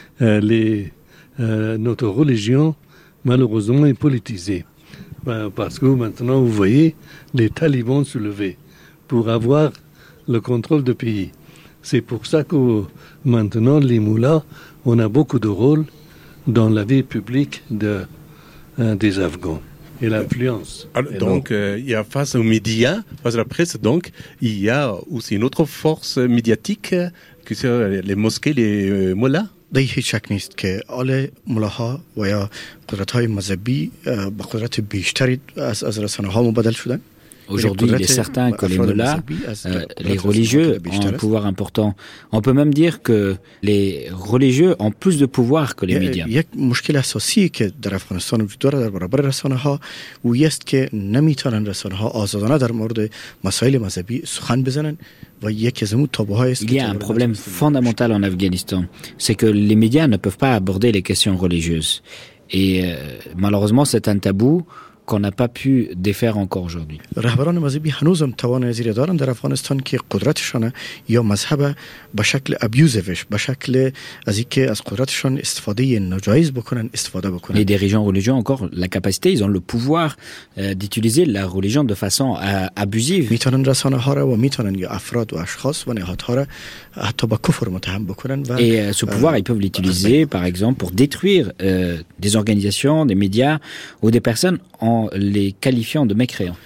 notre religion, malheureusement, est politisée. Parce que maintenant, vous voyez, les talibans se lever pour avoir le contrôle du pays. C'est pour ça que maintenant, les moullas, on a beaucoup de rôle dans la vie publique des Afghans. Et l'influence. Donc, il y a face aux médias, face à la presse, donc, il y a aussi une autre force médiatique que sont les mosquées, les mollahs. در هیچ شک نیست که آل ملاها و یا قدرت‌های مذهبی با قدرت بیشتری از رسانه‌ها مبادل شدن. Aujourd'hui, il est certain que les mollahs, les religieux, ont un pouvoir important. On peut même dire que les religieux ont plus de pouvoir que les médias. یک مشکل اساسی که در افغانستان وجود دارد در برابر رسانه‌ها و است که نمیتونن رسانه‌ها آزادانه در مورد مسائل مذهبی سخن بزنن و یکی از اون تابوهای است. Il y a un problème fondamental en Afghanistan, c'est que les médias ne peuvent pas aborder les questions religieuses. Et malheureusement, c'est un tabou qu'on n'a pas pu défaire encore aujourd'hui. رهبران مذهبی هنوزم توان زیر دارن در افغانستان که قدرتشان یا مذهب به شکل ابیوزیوش به شکل از اینکه از قدرتشان استفاده ناجایز بکنن استفاده بکنن. Les dirigeants religieux ont encore la capacité, ils ont le pouvoir d'utiliser la religion de façon abusive. میتونن رسانه ها را و میتونن یا افراد و اشخاص و نهادها را حتی به کفر متهم بکنن و et ce pouvoir ils peuvent l'utiliser par exemple pour détruire des organisations, des médias ou des personnes en les qualifiant de mécréants.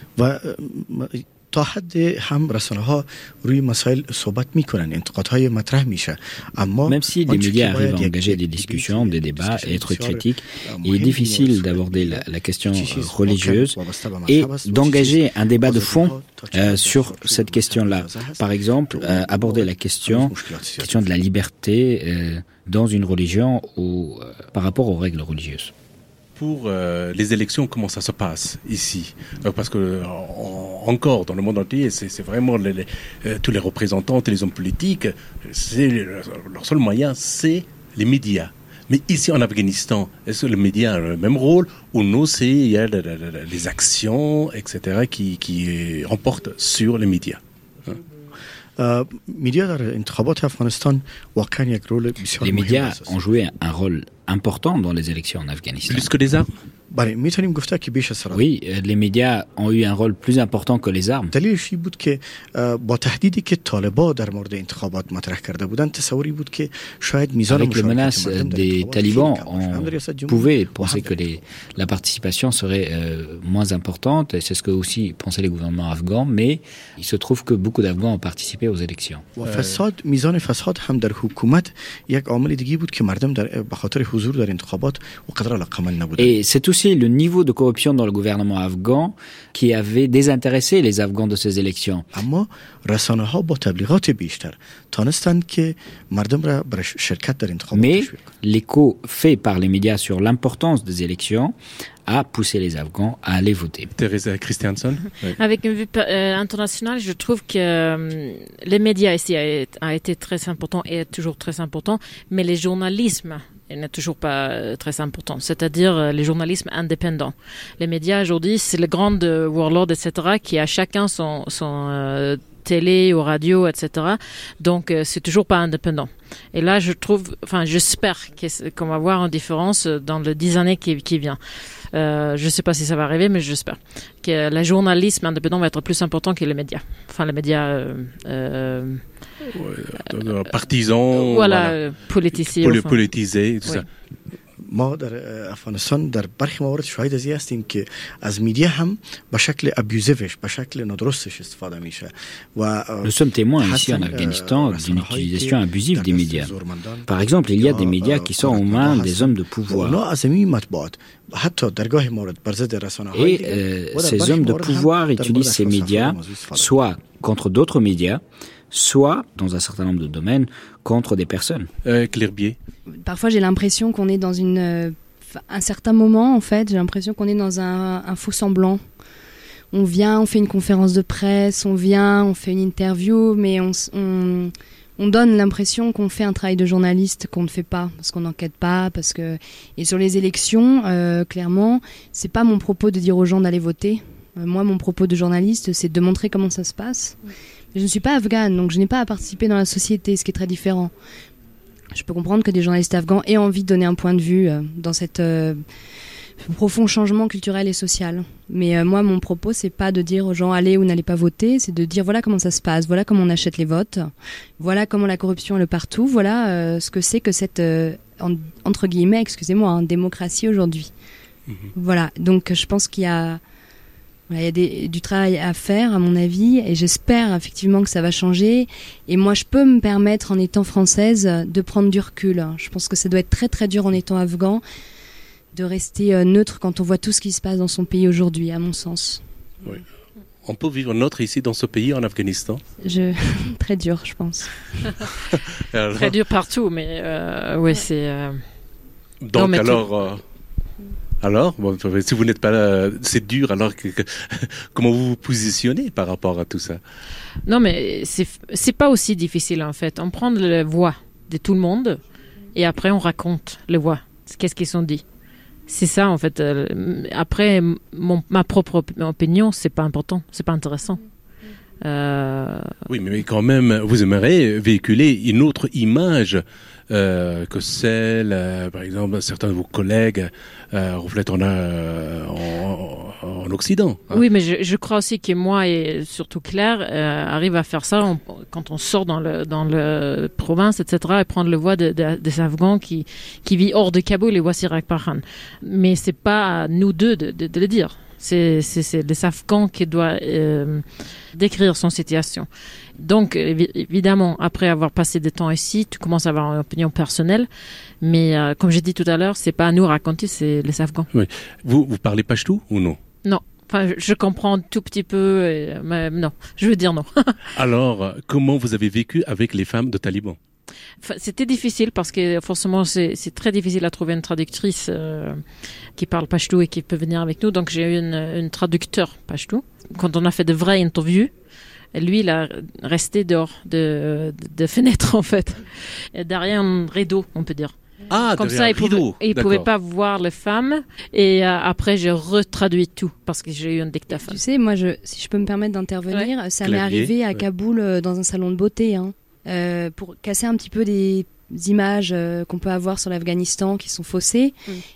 تا حد هم رسانه ها روی مسائل صحبت میکنن انتقادهای مطرح میشه اما même si les médias arrivent à engager des discussions, des débats et être critiques, il est difficile d'aborder la question religieuse et d'engager un débat de fond sur cette question-là. Par exemple, aborder la question de la liberté dans une religion ou par rapport aux règles religieuses. Pour les élections, comment ça se passe ici? Parce que encore dans le monde entier, c'est vraiment tous les représentants et les hommes politiques, leur seul moyen, c'est les médias. Mais ici en Afghanistan, est-ce que les médias ont le même rôle ou non, il y a les actions, etc., qui remportent sur les médias? Les médias ont joué un rôle important dans les élections en Afghanistan. Plus que les armes? Oui, les médias ont eu un rôle plus important que les armes. دلیلش این بود که با تهدیدی که طالبان در مورد انتخابات مطرح کرده بودند تصوری بود که شاید میزان Avec les menaces des talibans, on pouvait penser que la participation serait moins importante, et c'est ce que aussi pensaient les gouvernements afghans, mais il se trouve que beaucoup d'Afghans ont participé aux élections. فساد میزان فساد هم در حکومت یک عامل دیگه بود که مردم به خاطر حضور در انتخابات و قدر علاقه‌مند نبودند. Et c'est aussi le niveau de corruption dans le gouvernement afghan qui avait désintéressé les Afghans de ces élections. اما رسانه‌ها با تبلیغات بیشتر تانستند که مردم را برای شرکت در انتخابات Mais l'écho fait par les médias sur l'importance des élections a poussé les Afghans à aller voter. Teresa Christiansen. Oui. Avec une vue internationale, je trouve que les médias ici a été très important et est toujours très important, mais les journalismes n'est toujours pas très important, c'est-à-dire les journalismes indépendants. Les médias aujourd'hui, c'est les grandes warlords, etc., qui a chacun son télé, aux radios, etc. Donc, c'est toujours pas indépendant. Et là, j'espère qu'on va voir une différence dans les 10 années qui viennent. Je sais pas si ça va arriver, mais j'espère que le journalisme indépendant va être plus important que les médias. Enfin, les médias partisans, politisés et tout ça. ما در افغانستان در برخی موارد شاهد از این هستیم که از میدیا هم به شکل ابیوزیوش به شکل نادرستش استفاده میشه و Nous sommes témoins ici en Afghanistan d'une utilisation abusive des médias. Par exemple, il y a des médias qui sont aux mains des hommes de pouvoir. Et ces hommes de pouvoir utilisent ces médias soit contre d'autres médias, soit, dans un certain nombre de domaines, contre des personnes. Claire Bier. Parfois, j'ai l'impression qu'on est dans un certain moment, en fait, j'ai l'impression qu'on est dans un faux semblant. On vient, on fait une conférence de presse, on fait une interview, mais on donne l'impression qu'on fait un travail de journaliste qu'on ne fait pas, parce qu'on n'enquête pas, et sur les élections, clairement, c'est pas mon propos de dire aux gens d'aller voter. Moi, mon propos de journaliste, c'est de montrer comment ça se passe. Je ne suis pas afghane, donc je n'ai pas à participer dans la société, ce qui est très différent. Je peux comprendre que des journalistes afghans aient envie de donner un point de vue dans cet profond changement culturel et social. Mais moi, mon propos, c'est pas de dire aux gens allez ou n'allez pas voter, c'est de dire voilà comment ça se passe, voilà comment on achète les votes, voilà comment la corruption est le partout, voilà ce que c'est que cette, entre guillemets, excusez-moi, démocratie aujourd'hui. Voilà, donc je pense qu'il y a du travail à faire, à mon avis, et j'espère effectivement que ça va changer. Et moi, je peux me permettre, en étant française, de prendre du recul. Je pense que ça doit être très très dur en étant afghan de rester neutre quand on voit tout ce qui se passe dans son pays aujourd'hui, à mon sens. Oui. On peut vivre neutre ici dans ce pays, en Afghanistan ? Très dur, je pense. Très dur partout, mais oui, c'est... Donc alors, bon, si vous n'êtes pas là, c'est dur, alors comment vous vous positionnez par rapport à tout ça ? Non, mais c'est pas aussi difficile en fait. On prend la voix de tout le monde et après on raconte les voix. Qu'est-ce qu'ils sont dit ? C'est ça en fait. Après, ma propre opinion, c'est pas important, c'est pas intéressant. Oui, mais quand même, vous aimeriez véhiculer une autre image que celle, par exemple, certains de vos collègues reflètent en Occident. Hein. Oui, mais je crois aussi que moi et surtout Claire arrive à faire ça quand on sort dans le province, etc., et prendre le voix des Afghans qui vivent hors de Kaboul et voici Rakpahan. Mais c'est pas à nous deux de le dire. C'est les Afghans qui doivent décrire son situation. Donc, évidemment, après avoir passé des temps ici, tu commences à avoir une opinion personnelle. Mais comme j'ai dit tout à l'heure, c'est pas à nous raconter, c'est les Afghans. Oui. Vous parlez pachtou ou non ? Non. Enfin, je comprends un tout petit peu, mais non. Je veux dire non. Alors, comment vous avez vécu avec les femmes de talibans ? C'était difficile parce que forcément c'est très difficile à trouver une traductrice qui parle pachtou et qui peut venir avec nous. Donc j'ai eu une traducteur pachtou. Quand on a fait de vraies interviews, lui il a resté dehors de fenêtre en fait, et derrière un rideau on peut dire. Ah, comme ça, il pouvait pas voir les femmes. Et après, j'ai retraduit tout parce que j'ai eu un dictaphone. Tu sais, moi, si je peux me permettre d'intervenir, ça m'est arrivé à Kaboul dans un salon de beauté, pour casser un petit peu des images qu'on peut avoir sur l'Afghanistan qui sont faussées.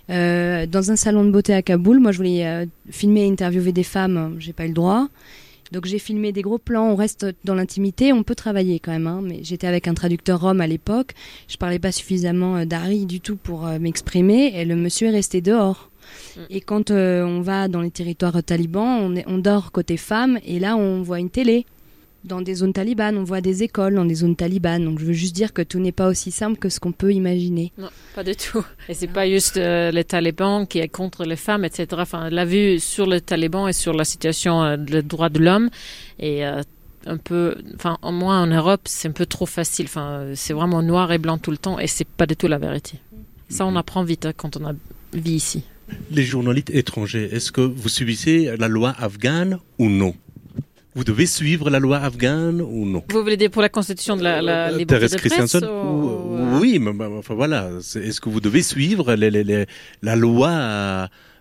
Dans un salon de beauté à Kaboul, moi, je voulais filmer et interviewer des femmes. J'ai pas eu le droit. Donc j'ai filmé des gros plans, on reste dans l'intimité, on peut travailler quand même, mais j'étais avec un traducteur rom à l'époque, je parlais pas suffisamment dari du tout pour m'exprimer, et le monsieur est resté dehors. Et quand on va dans les territoires talibans, on dort côté femmes, et là on voit une télé. Dans des zones talibanes, on voit des écoles dans des zones talibanes. Donc je veux juste dire que tout n'est pas aussi simple que ce qu'on peut imaginer. Non, pas du tout. Et c'est pas juste les talibans qui est contre les femmes, etc. Enfin, la vue sur les talibans et sur la situation des droits de l'homme est un peu... Enfin, au moins en Europe, c'est un peu trop facile. Enfin, c'est vraiment noir et blanc tout le temps et c'est pas du tout la vérité. Ça, on apprend vite quand on vit ici. Les journalistes étrangers, est-ce que vous subissez la loi afghane ou non ? Vous devez suivre la loi afghane ou non ? Vous voulez dire pour la constitution de la liberté de presse Oui, mais enfin voilà. Est-ce que vous devez suivre la loi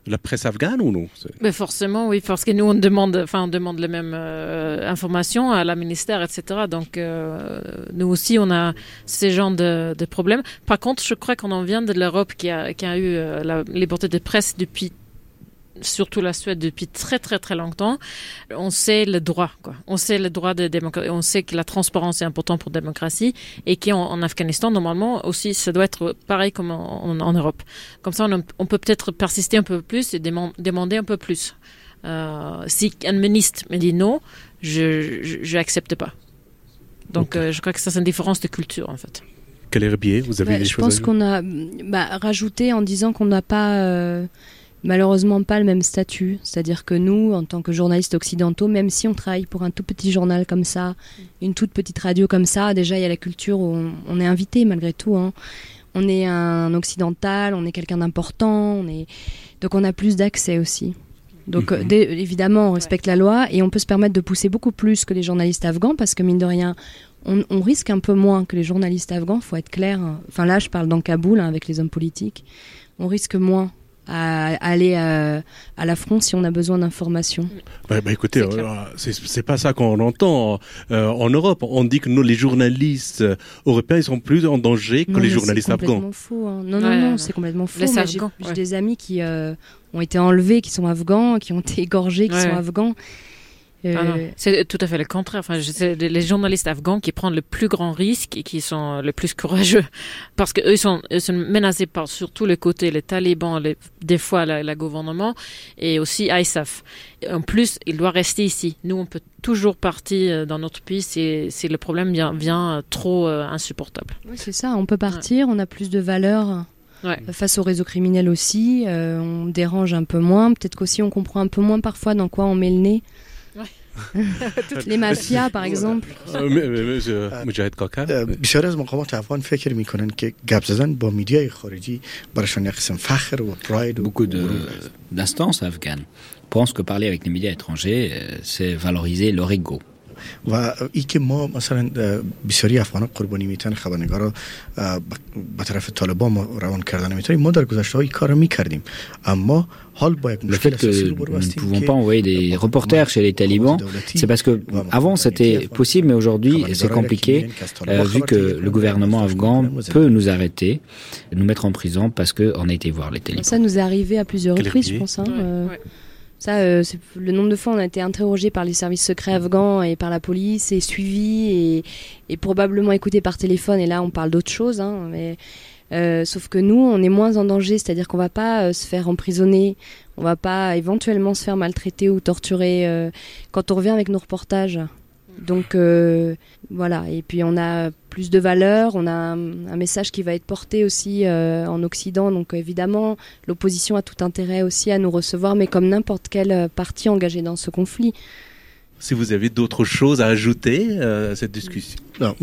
la presse afghane ou non? Mais forcément, oui, parce que nous, on demande les mêmes informations à la ministère, etc. Donc, nous aussi, on a ces genres de problèmes. Par contre, je crois qu'on en vient de l'Europe qui a eu la liberté de presse depuis, surtout la Suède, depuis très très très longtemps. On sait le droit, quoi. On sait le droit de démocratie. On sait que la transparence est importante pour la démocratie et qu'en Afghanistan, normalement aussi, ça doit être pareil comme en Europe. Comme ça, on peut peut-être persister un peu plus et demander un peu plus. Si un ministre me dit non, je n'accepte pas. Donc, je crois que ça, c'est une différence de culture, en fait. Quel herbier vous avez des choses? Je pense qu'on a rajouté en disant qu'on n'a pas... malheureusement pas le même statut, c'est-à-dire que nous, en tant que journalistes occidentaux, même si on travaille pour un tout petit journal comme ça, une toute petite radio comme ça, déjà il y a la culture où on est invité malgré tout, hein. On est un occidental, on est quelqu'un d'important, donc on a plus d'accès aussi. Donc évidemment on respecte la loi et on peut se permettre de pousser beaucoup plus que les journalistes afghans parce que mine de rien, on risque un peu moins que les journalistes afghans, faut être clair. Enfin là je parle dans Kaboul avec les hommes politiques, on risque moins à aller à l'affront si on a besoin d'informations. Écoutez, c'est pas ça qu'on entend en Europe. On dit que nous, les journalistes européens, ils sont plus en danger que les journalistes afghans. C'est complètement faux. Hein. Non, c'est complètement faux. J'ai des amis qui ont été enlevés, qui sont afghans, qui ont été égorgés, qui sont afghans. C'est tout à fait le contraire. Enfin, c'est les journalistes afghans qui prennent le plus grand risque et qui sont le plus courageux parce que eux sont menacés par sur tous les côtés, les talibans, des fois le gouvernement et aussi ISAF. En plus, il doit rester ici. Nous, on peut toujours partir dans notre pays si le problème vient trop insupportable. Oui, c'est ça. On peut partir, on a plus de valeur. Face au réseau criminel aussi, on dérange un peu moins. Peut-être qu'aussi on comprend un peu moins parfois dans quoi on met le nez. Les mafias par exemple. مجاهد کاکر بسیار از مقامات افغان فکر میکنن که گپ زدن با میدیای خارجی براشون یک قسم فخر و پراید. Beaucoup d'instances afghanes pensent que parler avec les médias étrangers c'est valoriser leur ego. و ای که ما مثلا بسیاری افغانان قربانی میتن خبرنگارا به طرف طالبان ما روان کردن میتونیم ما در گذشته های کارو میکردیم اما حال با یک مشکل اساسی رو برو هستیم. Nous ne pouvons pas envoyer des reporters chez les talibans, c'est parce que avant c'était possible mais aujourd'hui c'est compliqué vu que le gouvernement afghan peut nous arrêter, nous mettre en prison parce que on a été voir les talibans. Ça nous est arrivé à plusieurs reprises je pense Ça, c'est le nombre de fois on a été interrogé par les services secrets afghans et par la police et suivi et probablement écouté par téléphone et là on parle d'autre chose mais sauf que nous on est moins en danger, c'est-à-dire qu'on va pas se faire emprisonner, on va pas éventuellement se faire maltraiter ou torturer quand on revient avec nos reportages. Donc voilà, et puis on a plus de valeur, on a un message qui va être porté aussi en Occident, donc évidemment l'opposition a tout intérêt aussi à nous recevoir, mais comme n'importe quel parti engagé dans ce conflit. Si vous avez d'autres choses à ajouter à cette discussion.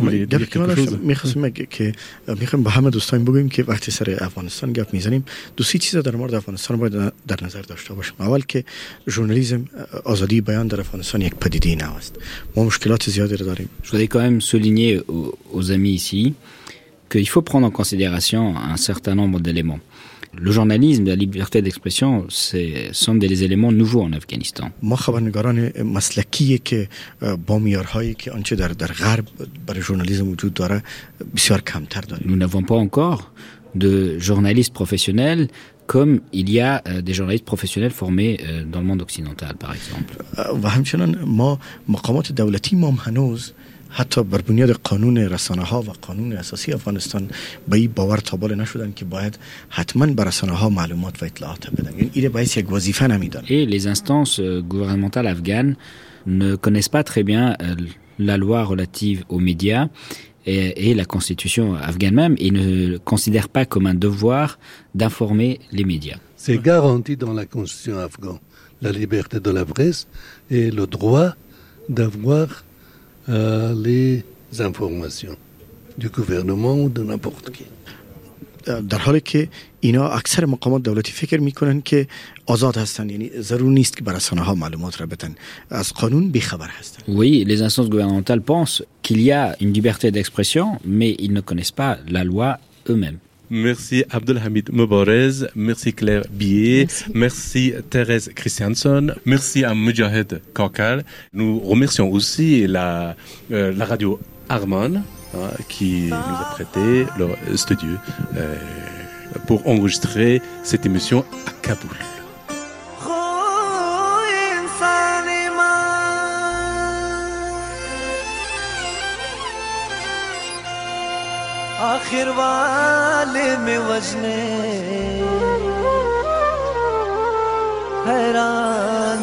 میخواستم که میخوایم با همه دوستان بگوییم که وقتی سر افغانستان گپ میزنیم دو سه چیز در مورد افغانستان باید در نظر داشته باشیم. اول که ژورنالیسم آزادی بیان در افغانستان یک پدیده نو است. ما مشکلات زیادی رو داریم. Je voudrais quand même souligner aux amis ici qu'il faut prendre en considération un certain nombre d'éléments. Le journalisme, la liberté d'expression, sont des éléments nouveaux en Afghanistan. ما خبرنگاران مسلکی که با معیارهایی که آنچه در غرب برای ژورنالیسم وجود داره بسیار کمتر داریم. Nous n'avons pas encore de journalistes professionnels comme il y a des journalistes professionnels formés dans le monde occidental, par exemple. و همچنان ما مقامات دولتی ما هنوز حتی بر بنیاد قانون رسانه‌ها و قانون اساسی افغانستان به این باور تابال نشدن که باید حتما بر رسانه‌ها معلومات و اطلاعات بدن. یعنی این باعث یک وظیفه نمیدن. Et les instances gouvernementales afghanes ne connaissent pas très bien la loi relative aux médias et la constitution afghane même et ne considèrent pas comme un devoir d'informer les médias. C'est garanti dans la constitution afghane, la liberté de la presse et le droit d'avoir les informations du gouvernement ou de n'importe qui. در حالی که اینا اکثر مقامات دولتی فکر میکنن که آزاد هستن، یعنی ضرور نیست که بر رسانه‌ها معلومات را بدن، از قانون بیخبر هستن. Oui, les instances gouvernementales pensent qu'il y a une liberté d'expression mais ils ne connaissent pas la loi eux-mêmes. Merci Abdelhamid Mobarez, merci Claire Billet, merci Thérèse Christianson, merci à Mujahid Kakal. Nous remercions aussi la radio Arman qui nous a prêté leur studio pour enregistrer cette émission à Kaboul. आखिर वाले में वजने हैरान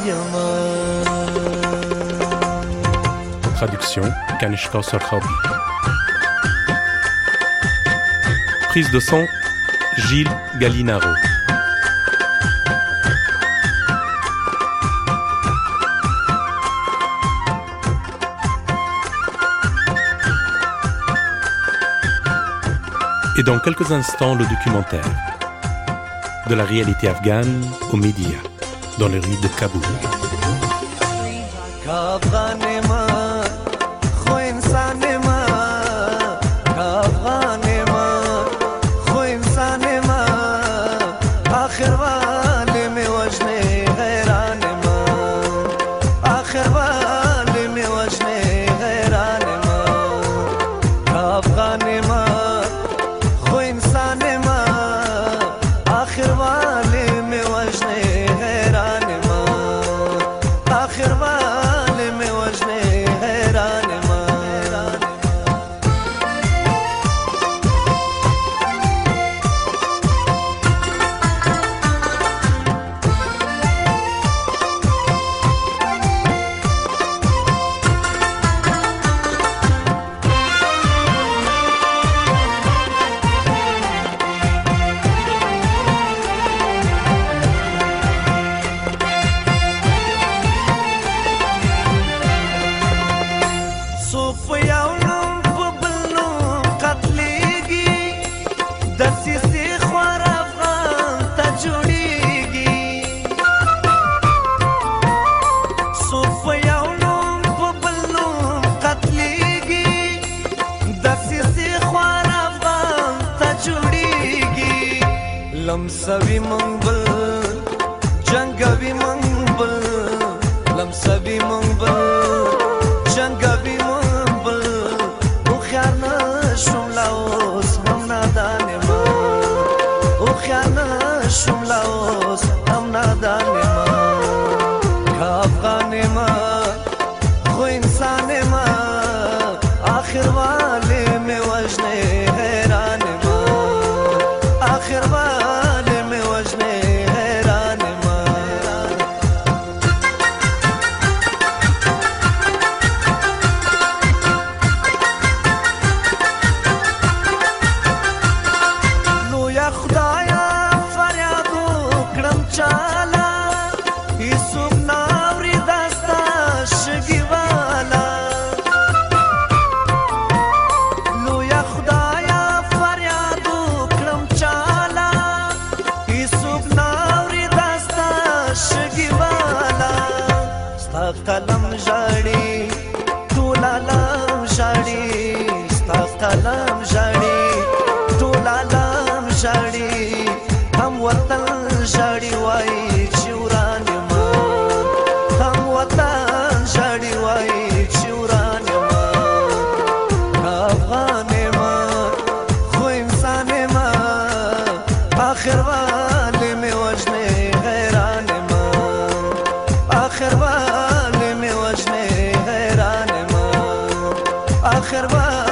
Traduction Kanishka Sarkhabi. Prise de son Gilles Gallinaro. Et dans quelques instants, le documentaire de la réalité afghane aux médias, dans les rues de Kaboul. लमसवी मंगबल जंगवी मंगबल लमसवी मंगबल जंगवी मंगबल उख्याना शुमलाओस हम नादाने मा उख्याना शुमलाओस हम नादाने मा खाफगाने मा खो इंसाने मा आखिर वाले में वजने हैरान मा आखिर कलम जाड़ी टूला लम जाड़ी स्ता कलम जाड़ी टूला लम जाड़ी हम वतन जाड़ी वाई चिउरान मा हम वतन जाड़ी वाई चिउरान मा अफगान मा खो इंसान मा आखिर वाले में वजने हैरान मा आखिर आखिर